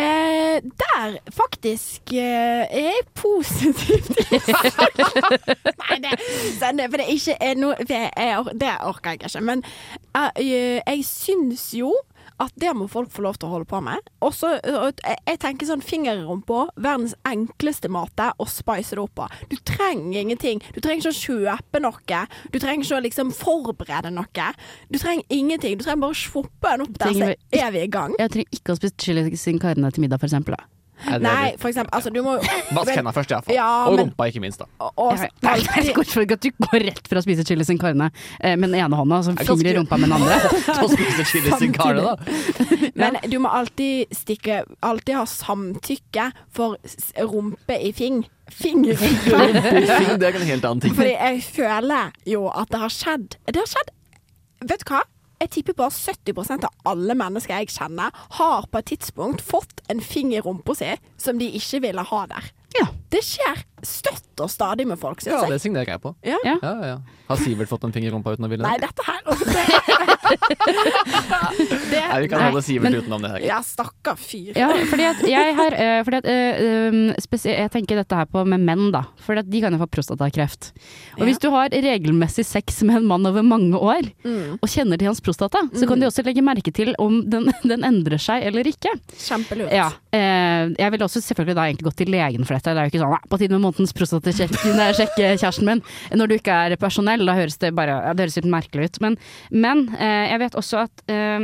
der faktisk er jeg positiv til Nei, for det er ikke noe det orker jeg ikke. Men jeg syns jo at det må folk få lov til å holde på med. Og så, jeg tenker sånn finger i rumpa, verdens enkleste måte å spice det opp på. Du trenger ingenting. Du trenger ikke å kjøpe noe. Du trenger ikke å liksom forberede noe. Du trenger ingenting. Du trenger bare å svoppe den opp der, så er vi i gang. Jeg trenger ikke å spise chili sin carne til middag, for eksempel da. Nei, for eksempel, altså du må vask hendene først i hvert fall. Og rumpa ikke minst da. Jeg går for at du går rett for å spise chili sin carne med den ene hånda, og så finger i rumpa med den andre. Og spise chili sin carne da. Men du må alltid ha samtykke for rumpe i finger i fing. Det er en helt annen ting. Fordi jeg føler jo at det har skjedd, vet du hva? Jeg tipper bare 70% av alle mennesker jeg kjenner har på et tidspunkt fått en finger i rumpa si som de ikke ville ha der. Ja. Det skjer støtt og stadig med folk, synes Ja, jeg. det signerer jeg på. Ja. Ja. Har Sivert fått en finger i rumpa uten å ville Nei, det? dette her Nei, vi kan Nei, holde Sivert men- utenom det her. Ja, stakkar fyr. Ja, fordi at jeg har jeg tenker dette her på med menn, da. For at de kan jo få prostatakreft. Og hvis du har regelmessig sex med en mann over mange år, og kjenner til hans prostata, så kan de også legge merke til om den endrer seg eller ikke. Kjempelurt. Ja, jeg ville også selvfølgelig da egentlig gått til legen for dette. Det er jo ikke sånn på tide med månedens prostatasjekke kjæresten min når du ikke er personell. Da høres det bare det høres litt merkelig ut. Men jeg vet også at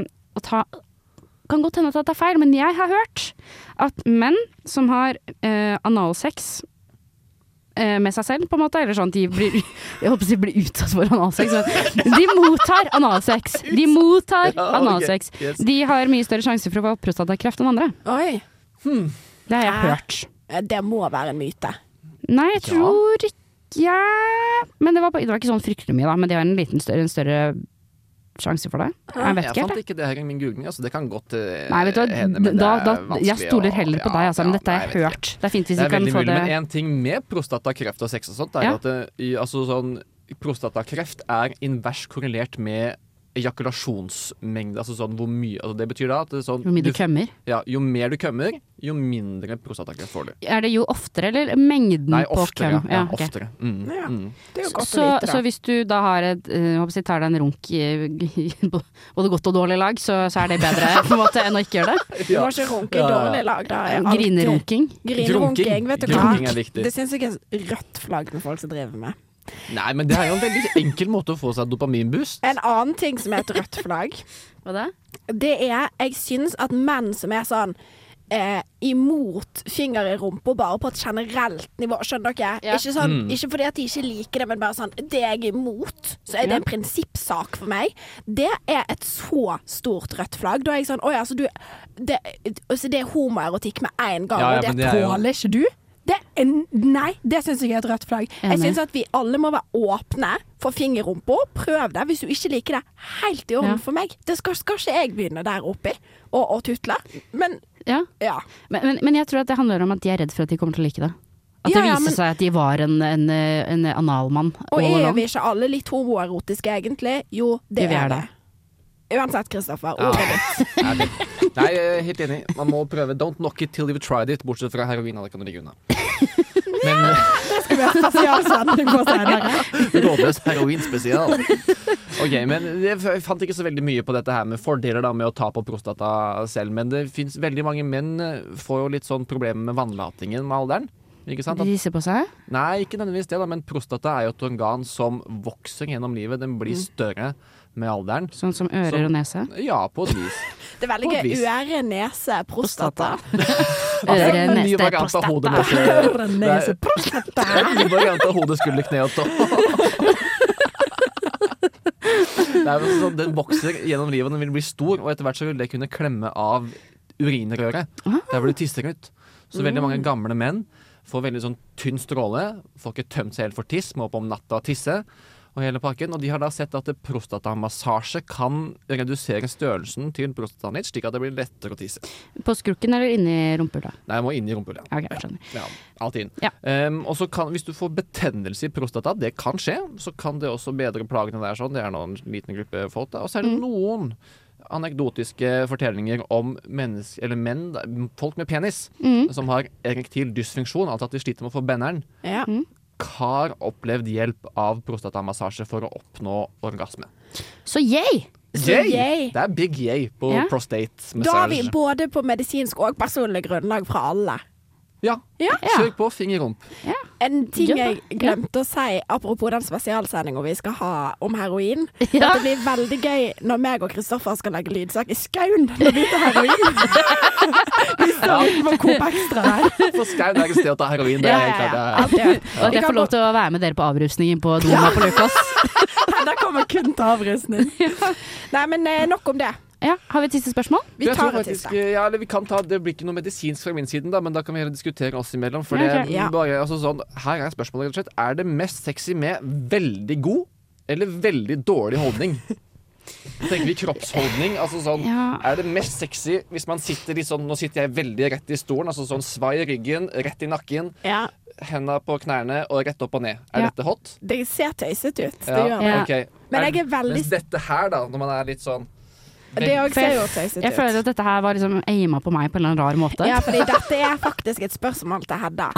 kan godt hende at det er feil, men jeg har hørt at menn som har analsex med seg selv, på en måte, eller sånn at jeg håper de blir utsatt for analsex, men de mottar analsex. ok, yes. De har mye større sjanse for å få prostatakreft enn andre. Oi, Det har jeg hørt. det må være en myte. Nei, jeg tror ikke men det var ikke sånn fryktelig mye, da. Men de har en større sjanse for det. Jeg vet Jeg ikke fant helt. ikke det her i min googling, altså det kan godt Nei, vet du hva, hende, men det er vanskelig jeg stoler heller på deg, altså, men dette har nei, jeg vet ikke. hørt. Det er fint hvis Det vi er kan veldig få mulig, det. men en ting med prostatakreft og sex og sånt, er Ja. at prostatakreft er invers korrelert med ejakulasjonsmengde, altså sånn hvor mye, altså det betyr da at det er sånn, Hvor mye du kømmer. Ja, jo mer du kømmer, jo mindre prostatakreft får du. Er det jo oftere, eller mengden Nei, på oftere. køm? Ja, ok. oftere. Ja. Det er jo godt Så, å vite, så da. hvis du da har tar deg en runk i både godt og dårlig lag, så er det bedre på en måte enn å ikke gjøre det? Du må ikke runke i Ja, ja. dårlig lag, da. er alltid- Grinerunking. Grinerunking, vet du hva? Grunking er viktig. Det synes jeg er rødt flagg med folk som driver med. Nei, men det er jo en veldig enkel måte å få seg dopaminboost. En annen ting som er et rødt flagg, Hva da? det er, jeg synes at menn som er sånn imot finger i rumpa bare på et generelt nivå, skjønner dere? Ja. Ikke, sånn, ikke fordi at de ikke liker det, men bare sånn, det er jeg imot, så er det en prinsippsak for meg. Det er et så stort rødt flagg. Da er jeg sånn, oi, altså du, det er homoerotikk med en gang, Ja, ja, og men det det er jo- tåler ikke du? Nei, det synes jeg er et rødt flagg. Jeg Enig. synes at vi alle må være åpne for finger i rumpa. Prøv det. Hvis du ikke liker det, helt i orden Ja. for meg. Det skal ikke jeg begynne der oppe og tutle. Men Ja. ja. Men jeg tror at det handler om at de er redd for at de kommer til å like det. At Ja, det ja, viser men- seg at de var en analmann. Og all er along. vi ikke alle litt homoerotiske egentlig? Jo, det Jo, vi er er det. Uansett, Kristoffer. Ja. Ordet ditt. Nei, jeg er helt enig. Man må prøve. Don't knock it till you've tried it, bortsett fra heroin. Det kan du ligge unna. Men Skal vi ha spesialsending på senere? rådløs heroinspesial. Ok, men jeg fant ikke så veldig mye på dette her med fordeler da med å ta på prostata selv, men det finnes veldig mange menn får jo litt sånn problemer med vannlatingen med alderen. Ikke sant? De risser på seg? Nei, ikke nødvendigvis det da, men prostata er jo et organ som vokser gjennom livet. Den blir større med alderen. Sånn som ører og nese? Ja, på et vis. Det er veldig På et gøy. vis. Øre, nese, prostata. Øre, En ny nese, variant av hode, nese. Øre, nese, Det prostata. er en ny variant av hode, skulder, kne og tå. Det er jo sånn, den vokser gjennom livet, den vil bli stor, og etter hvert så vil det kunne klemme av urinrøret. Der hvor det tisser ut. Så veldig mange gamle menn får veldig sånn tynn stråle, får ikke tømt seg helt for tiss, må opp om natta og tisse, og hele pakken. Og de har da sett at prostatamassasje kan redusere størrelsen til prostataen ditt, slik at det blir lettere å tisse. På skrukken eller inni rumpehullet? Nei, jeg må inn i rumpehullet. Ok, jeg skjønner. Ja, alltid inn. Ja. Og så kan, hvis du får betennelse i prostata, det kan skje, så kan det også bedre plagene der sånn. Det er nå en liten gruppe folk da. Og så er det noen anekdotiske fortellinger om menn, folk med penis, som har erektil dysfunksjon, altså at de sliter med å få benderen, Ja. har opplevd hjelp av prostatamassasje for å oppnå orgasme. Så yay! yay. Det er big yay på Ja. prostate Da har vi massage. både på medisinsk og personlig grunnlag fra alle. Ja, Ja. kjør på, finger i rump. En ting Ja. jeg glemte å si apropos den spesialsendingen vi skal ha om heroin. Ja. Dette blir veldig gøy når meg og Kristoffer skal lage lydsak i skauen når vi tar heroin. Vi står utenfor Coop Extra her. For Skaun er et sted å ta heroin. Det er helt klart. det er- Alltid. Og jeg får lov til å være med dere på avrusningen på Doma på Lukas. Der kommer kun til avrusning. Nei, men nok om det. Ja, har vi et siste spørsmål? Vi Jeg tror tar et faktisk, siste. ja, eller vi kan ta, det blir ikke noe medisinsk fra min side, da, men da kan vi heller diskutere oss imellom. For det Ok. Ja. bare, altså sånn, her er spørsmålet rett og slett. Er det mest sexy med veldig god eller veldig dårlig holdning? Så tenker vi kroppsholdning. Altså sånn, Ja. er det mest sexy hvis man sitter litt sånn, nå sitter jeg veldig rett i stolen, altså sånn svai i ryggen, rett i nakken, Ja. hendene på knærne og rett opp og ned. Dette hot? Det ser tøysete ut. Det Ja, gjør det. ok. Men jeg er veldig Mens dette her da, når man litt sånn Det også ser jo tøysete ut. Jeg føler at dette her var liksom aima på meg på en eller annen rar måte. Ja, fordi dette er faktisk et spørsmål til Hedda.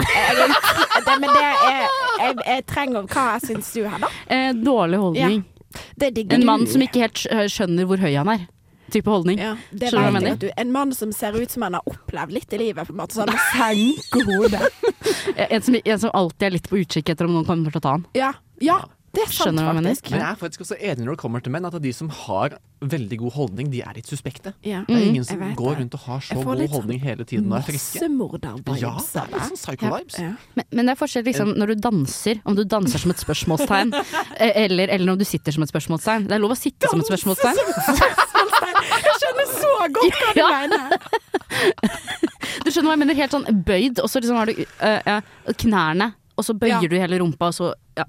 Jeg trenger hva syns du, Hedda? Dårlig holdning. Det digger En du. mann som ikke helt skjønner hvor høy han er. Type holdning. Ja, det Skjønner du hva vet jeg jeg at du. En mann som ser ut som han har opplevd litt i livet, på en måte, sånn med senke hodet. En som alltid er litt på utkikk etter om noen kommer til å ta han. Ja, det er sant, Skjønner du hva jeg mener? faktisk. Men jeg er faktisk også enig når det kommer til menn, at de som har veldig god holdning, de er litt suspekte. Ja. Det er ingen som Jeg vet går det. rundt og har så Jeg får god litt holdning hele tiden og er friske. Massemorder-vibes. Ja, det er litt sånn psycho-vibes. Ja. Men det er forskjell liksom, når du danser, om du danser som et spørsmålstegn, eller om du sitter som et spørsmålstegn. Det er lov å sitte som et spørsmålstegn. Jeg skjønner så godt hva du Ja. mener. Du skjønner hva jeg mener? Helt sånn bøyd, og så liksom har du knærne. Og så bøyer Ja. du hele rumpa, og så ja.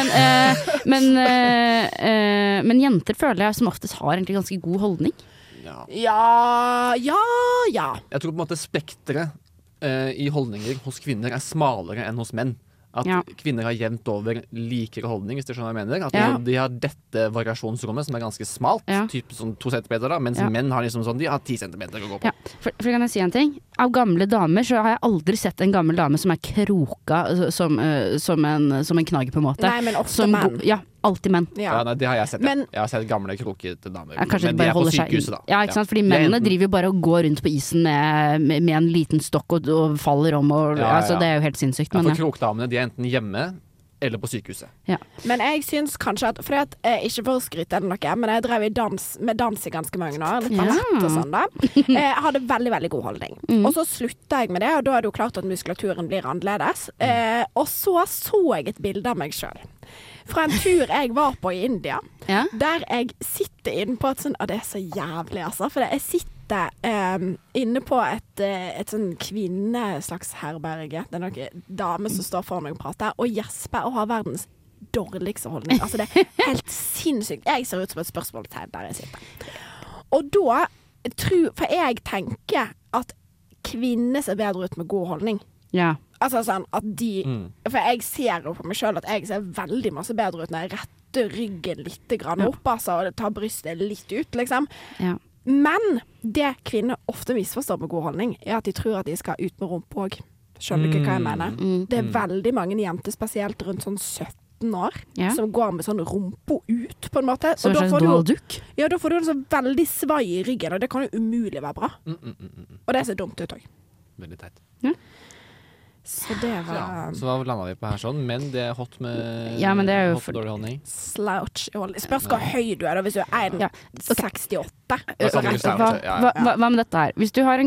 Men jenter føler jeg som oftest har egentlig ganske god holdning. Ja. Jeg tror på en måte spekteret i holdninger hos kvinner er smalere enn hos menn. At Ja. kvinner har jevnt over likere holdning, hvis du skjønner hva jeg mener. At Ja. de har dette variasjonsrommet som er ganske smalt, Ja. typ sånn 2 centimeter, da, mens Ja. menn har liksom sånn, de har 10 centimeter å gå på. Ja, for kan jeg si en ting? Av gamle damer så har jeg aldri sett en gammel dame som er kroka som en knagg, på en måte. Nei, men ofte Som menn. Ja, alltid menn. Ja, nei, det har jeg sett. Men- Jeg har sett gamle krokete damer. Ja, kanskje men de de bare er på holder seg sykehuset, da. Ja, ikke sant? Fordi De er mennene enten- driver jo bare og går rundt på isen med en liten stokk og faller om og Ja. Altså, det er jo helt sinnssykt. Ja, Men for krokdamene de er enten hjemme eller på sykehuset. Men jeg syns kanskje at fordi at ikke for å skryte eller noe, men jeg drev med dans i ganske mange år. Litt Ja. ballett og sånn, da. Jeg hadde veldig, veldig god holdning. Og så slutta jeg med det, og da er det jo klart at muskulaturen blir annerledes. Og så jeg et bilde av meg sjøl. Fra en tur jeg var på i India, Ja. der jeg sitter inne på et sånn det er så jævlig, altså. For jeg sitter inne på et sånn kvinneslags herberge. Det er noen damer som står foran meg og prater, og gjesper og har verdens dårligste holdning. Altså, det er helt sinnssykt. Jeg ser ut som et spørsmålstegn der jeg sitter. Og da for jeg tenker at kvinner ser bedre ut med god holdning. Ja. Altså sånn at For jeg ser jo på meg sjøl at jeg ser veldig masse bedre ut når jeg retter ryggen litt grann opp, altså, og tar brystet litt ut, liksom. Ja. Men det kvinner ofte misforstår med god holdning, er at de tror at de skal ut med rumpa òg. Skjønner du ikke hva jeg mener? Det er veldig mange jenter, spesielt rundt sånn 17 år, Ja. som går med sånn rumpa ut, på en måte. Som Og en da slags får du Donald Duck. ja, da får du en sånn veldig svai i ryggen, og det kan jo umulig være bra. Og det ser dumt ut òg. Veldig teit. Så det var Ja. Så hva landa vi på her sånn? Men det er hot med Ja, men det er jo hot med dårlig holdning. slouch i holdning. Spørs hvor høy du er, da. Hvis du er 1,68. Da snakker vi slouch, Hva, ja, hva, hva, hva med dette her? Hvis du har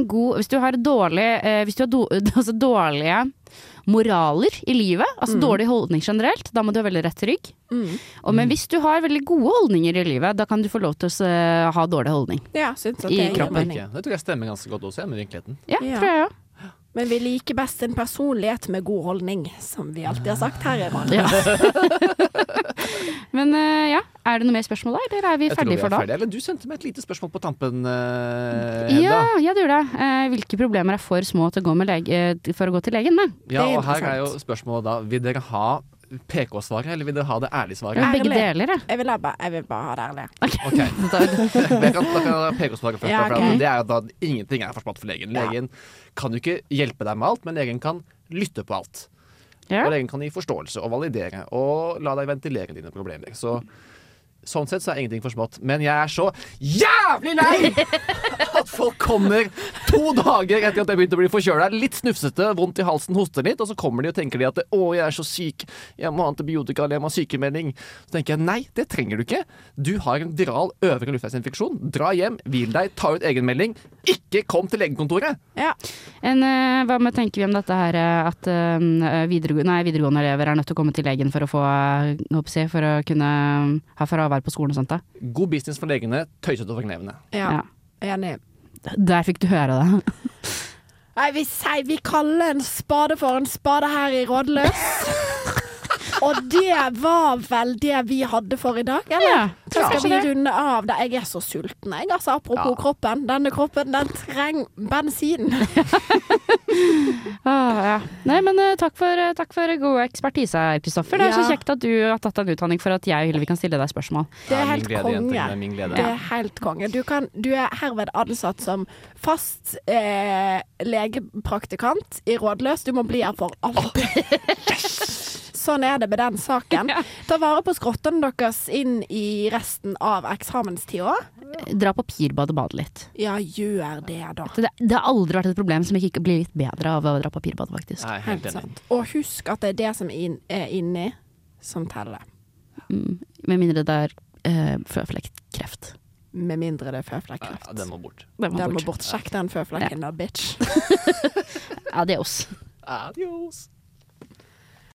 altså dårlige moraler i livet, altså dårlig holdning generelt, da må du ha veldig rett rygg. Men hvis du har veldig gode holdninger i livet, da kan du få lov til å ha dårlig holdning. Ja, syns at I det gir kroppen. mening. Det tror jeg stemmer ganske godt også, med virkeligheten. Ja, Ja. tror jeg òg. Men vi liker best en personlighet med god holdning, som vi alltid har sagt her i Radio. Ja. Men ja, er det noe mer spørsmål der, eller er vi Jeg tror vi ferdige er for da? ferdige. Eller du sendte meg et lite spørsmål på tampen, Ja, Hedda. ja, det gjorde det. Hvilke problemer er for små til å gå for å gå til legen med? Ja, Det er og her er jo interessant. spørsmålet da, vil dere ha PK-svaret, eller vil dere ha det ærlige svaret? Ja, begge Ærlig. deler, ja. Jeg vil bare ha det ærlig. Ok, da kan jeg ha PK-svaret først. Ja, Da, for ok. det er jo da ingenting er for smått for legen. Legen kan jo ikke hjelpe deg med alt, men legen kan lytte på alt. Ja. Og legen kan gi forståelse og validere og la deg ventilere dine problemer. Så sånn sett så er ingenting for smått. Men jeg er så jævlig lei at folk kommer 2 dager etter at jeg begynte å bli forkjøla, litt snufsete, vondt i halsen, hoster litt, og så kommer de og tenker de at å, jeg er så syk, jeg må ha antibiotika eller jeg må ha sykemelding. Så tenker jeg nei, det trenger du ikke. Du har en viral øvre luftveisinfeksjon. Dra hjem, hvil deg, ta ut egenmelding. Ikke kom til legekontoret! Ja. Hva med tenker vi om dette her at videregående elever er nødt til å komme til legen for å få for å kunne ha fravær på skolen og sånt da? God business for legene, tøysete for knevene. Ja. Enig. Der fikk du høre det. Nei, vi kaller en spade for en spade her i Rådløs. Og det var vel det vi hadde for i dag, eller? Ja, Så skal kanskje vi det. runde av det. Jeg er så sulten, jeg. Altså, apropos kroppen. Denne kroppen, den trenger bensin. Ja. Nei, men takk for god ekspertise her, Kristoffer. Det er så Ja. kjekt at du har tatt en utdanning for at jeg og Hillevi kan stille deg spørsmål. Det er min helt glede, jenter, konge. det er min glede. Det er helt konge. Du er herved ansatt som fast legepraktikant i Rådløs. Du må bli her for alltid. Sånn er det med den saken. Ta vare på skrottene deres inn i resten av eksamenstida. Dra på Pirbad og bade litt. Ja, gjør det, da. Det har aldri vært et problem som ikke blir litt bedre av å dra på Pirbad, faktisk. Nei, helt Helt enig. sant. Og husk at det er det som er inni, som teller. Med mindre det er føflekkreft. Med mindre det er føflekkreft. Ja, den må bort. Den Den må bort. Sjekk den føflekken da, bitch. Adios. Adios.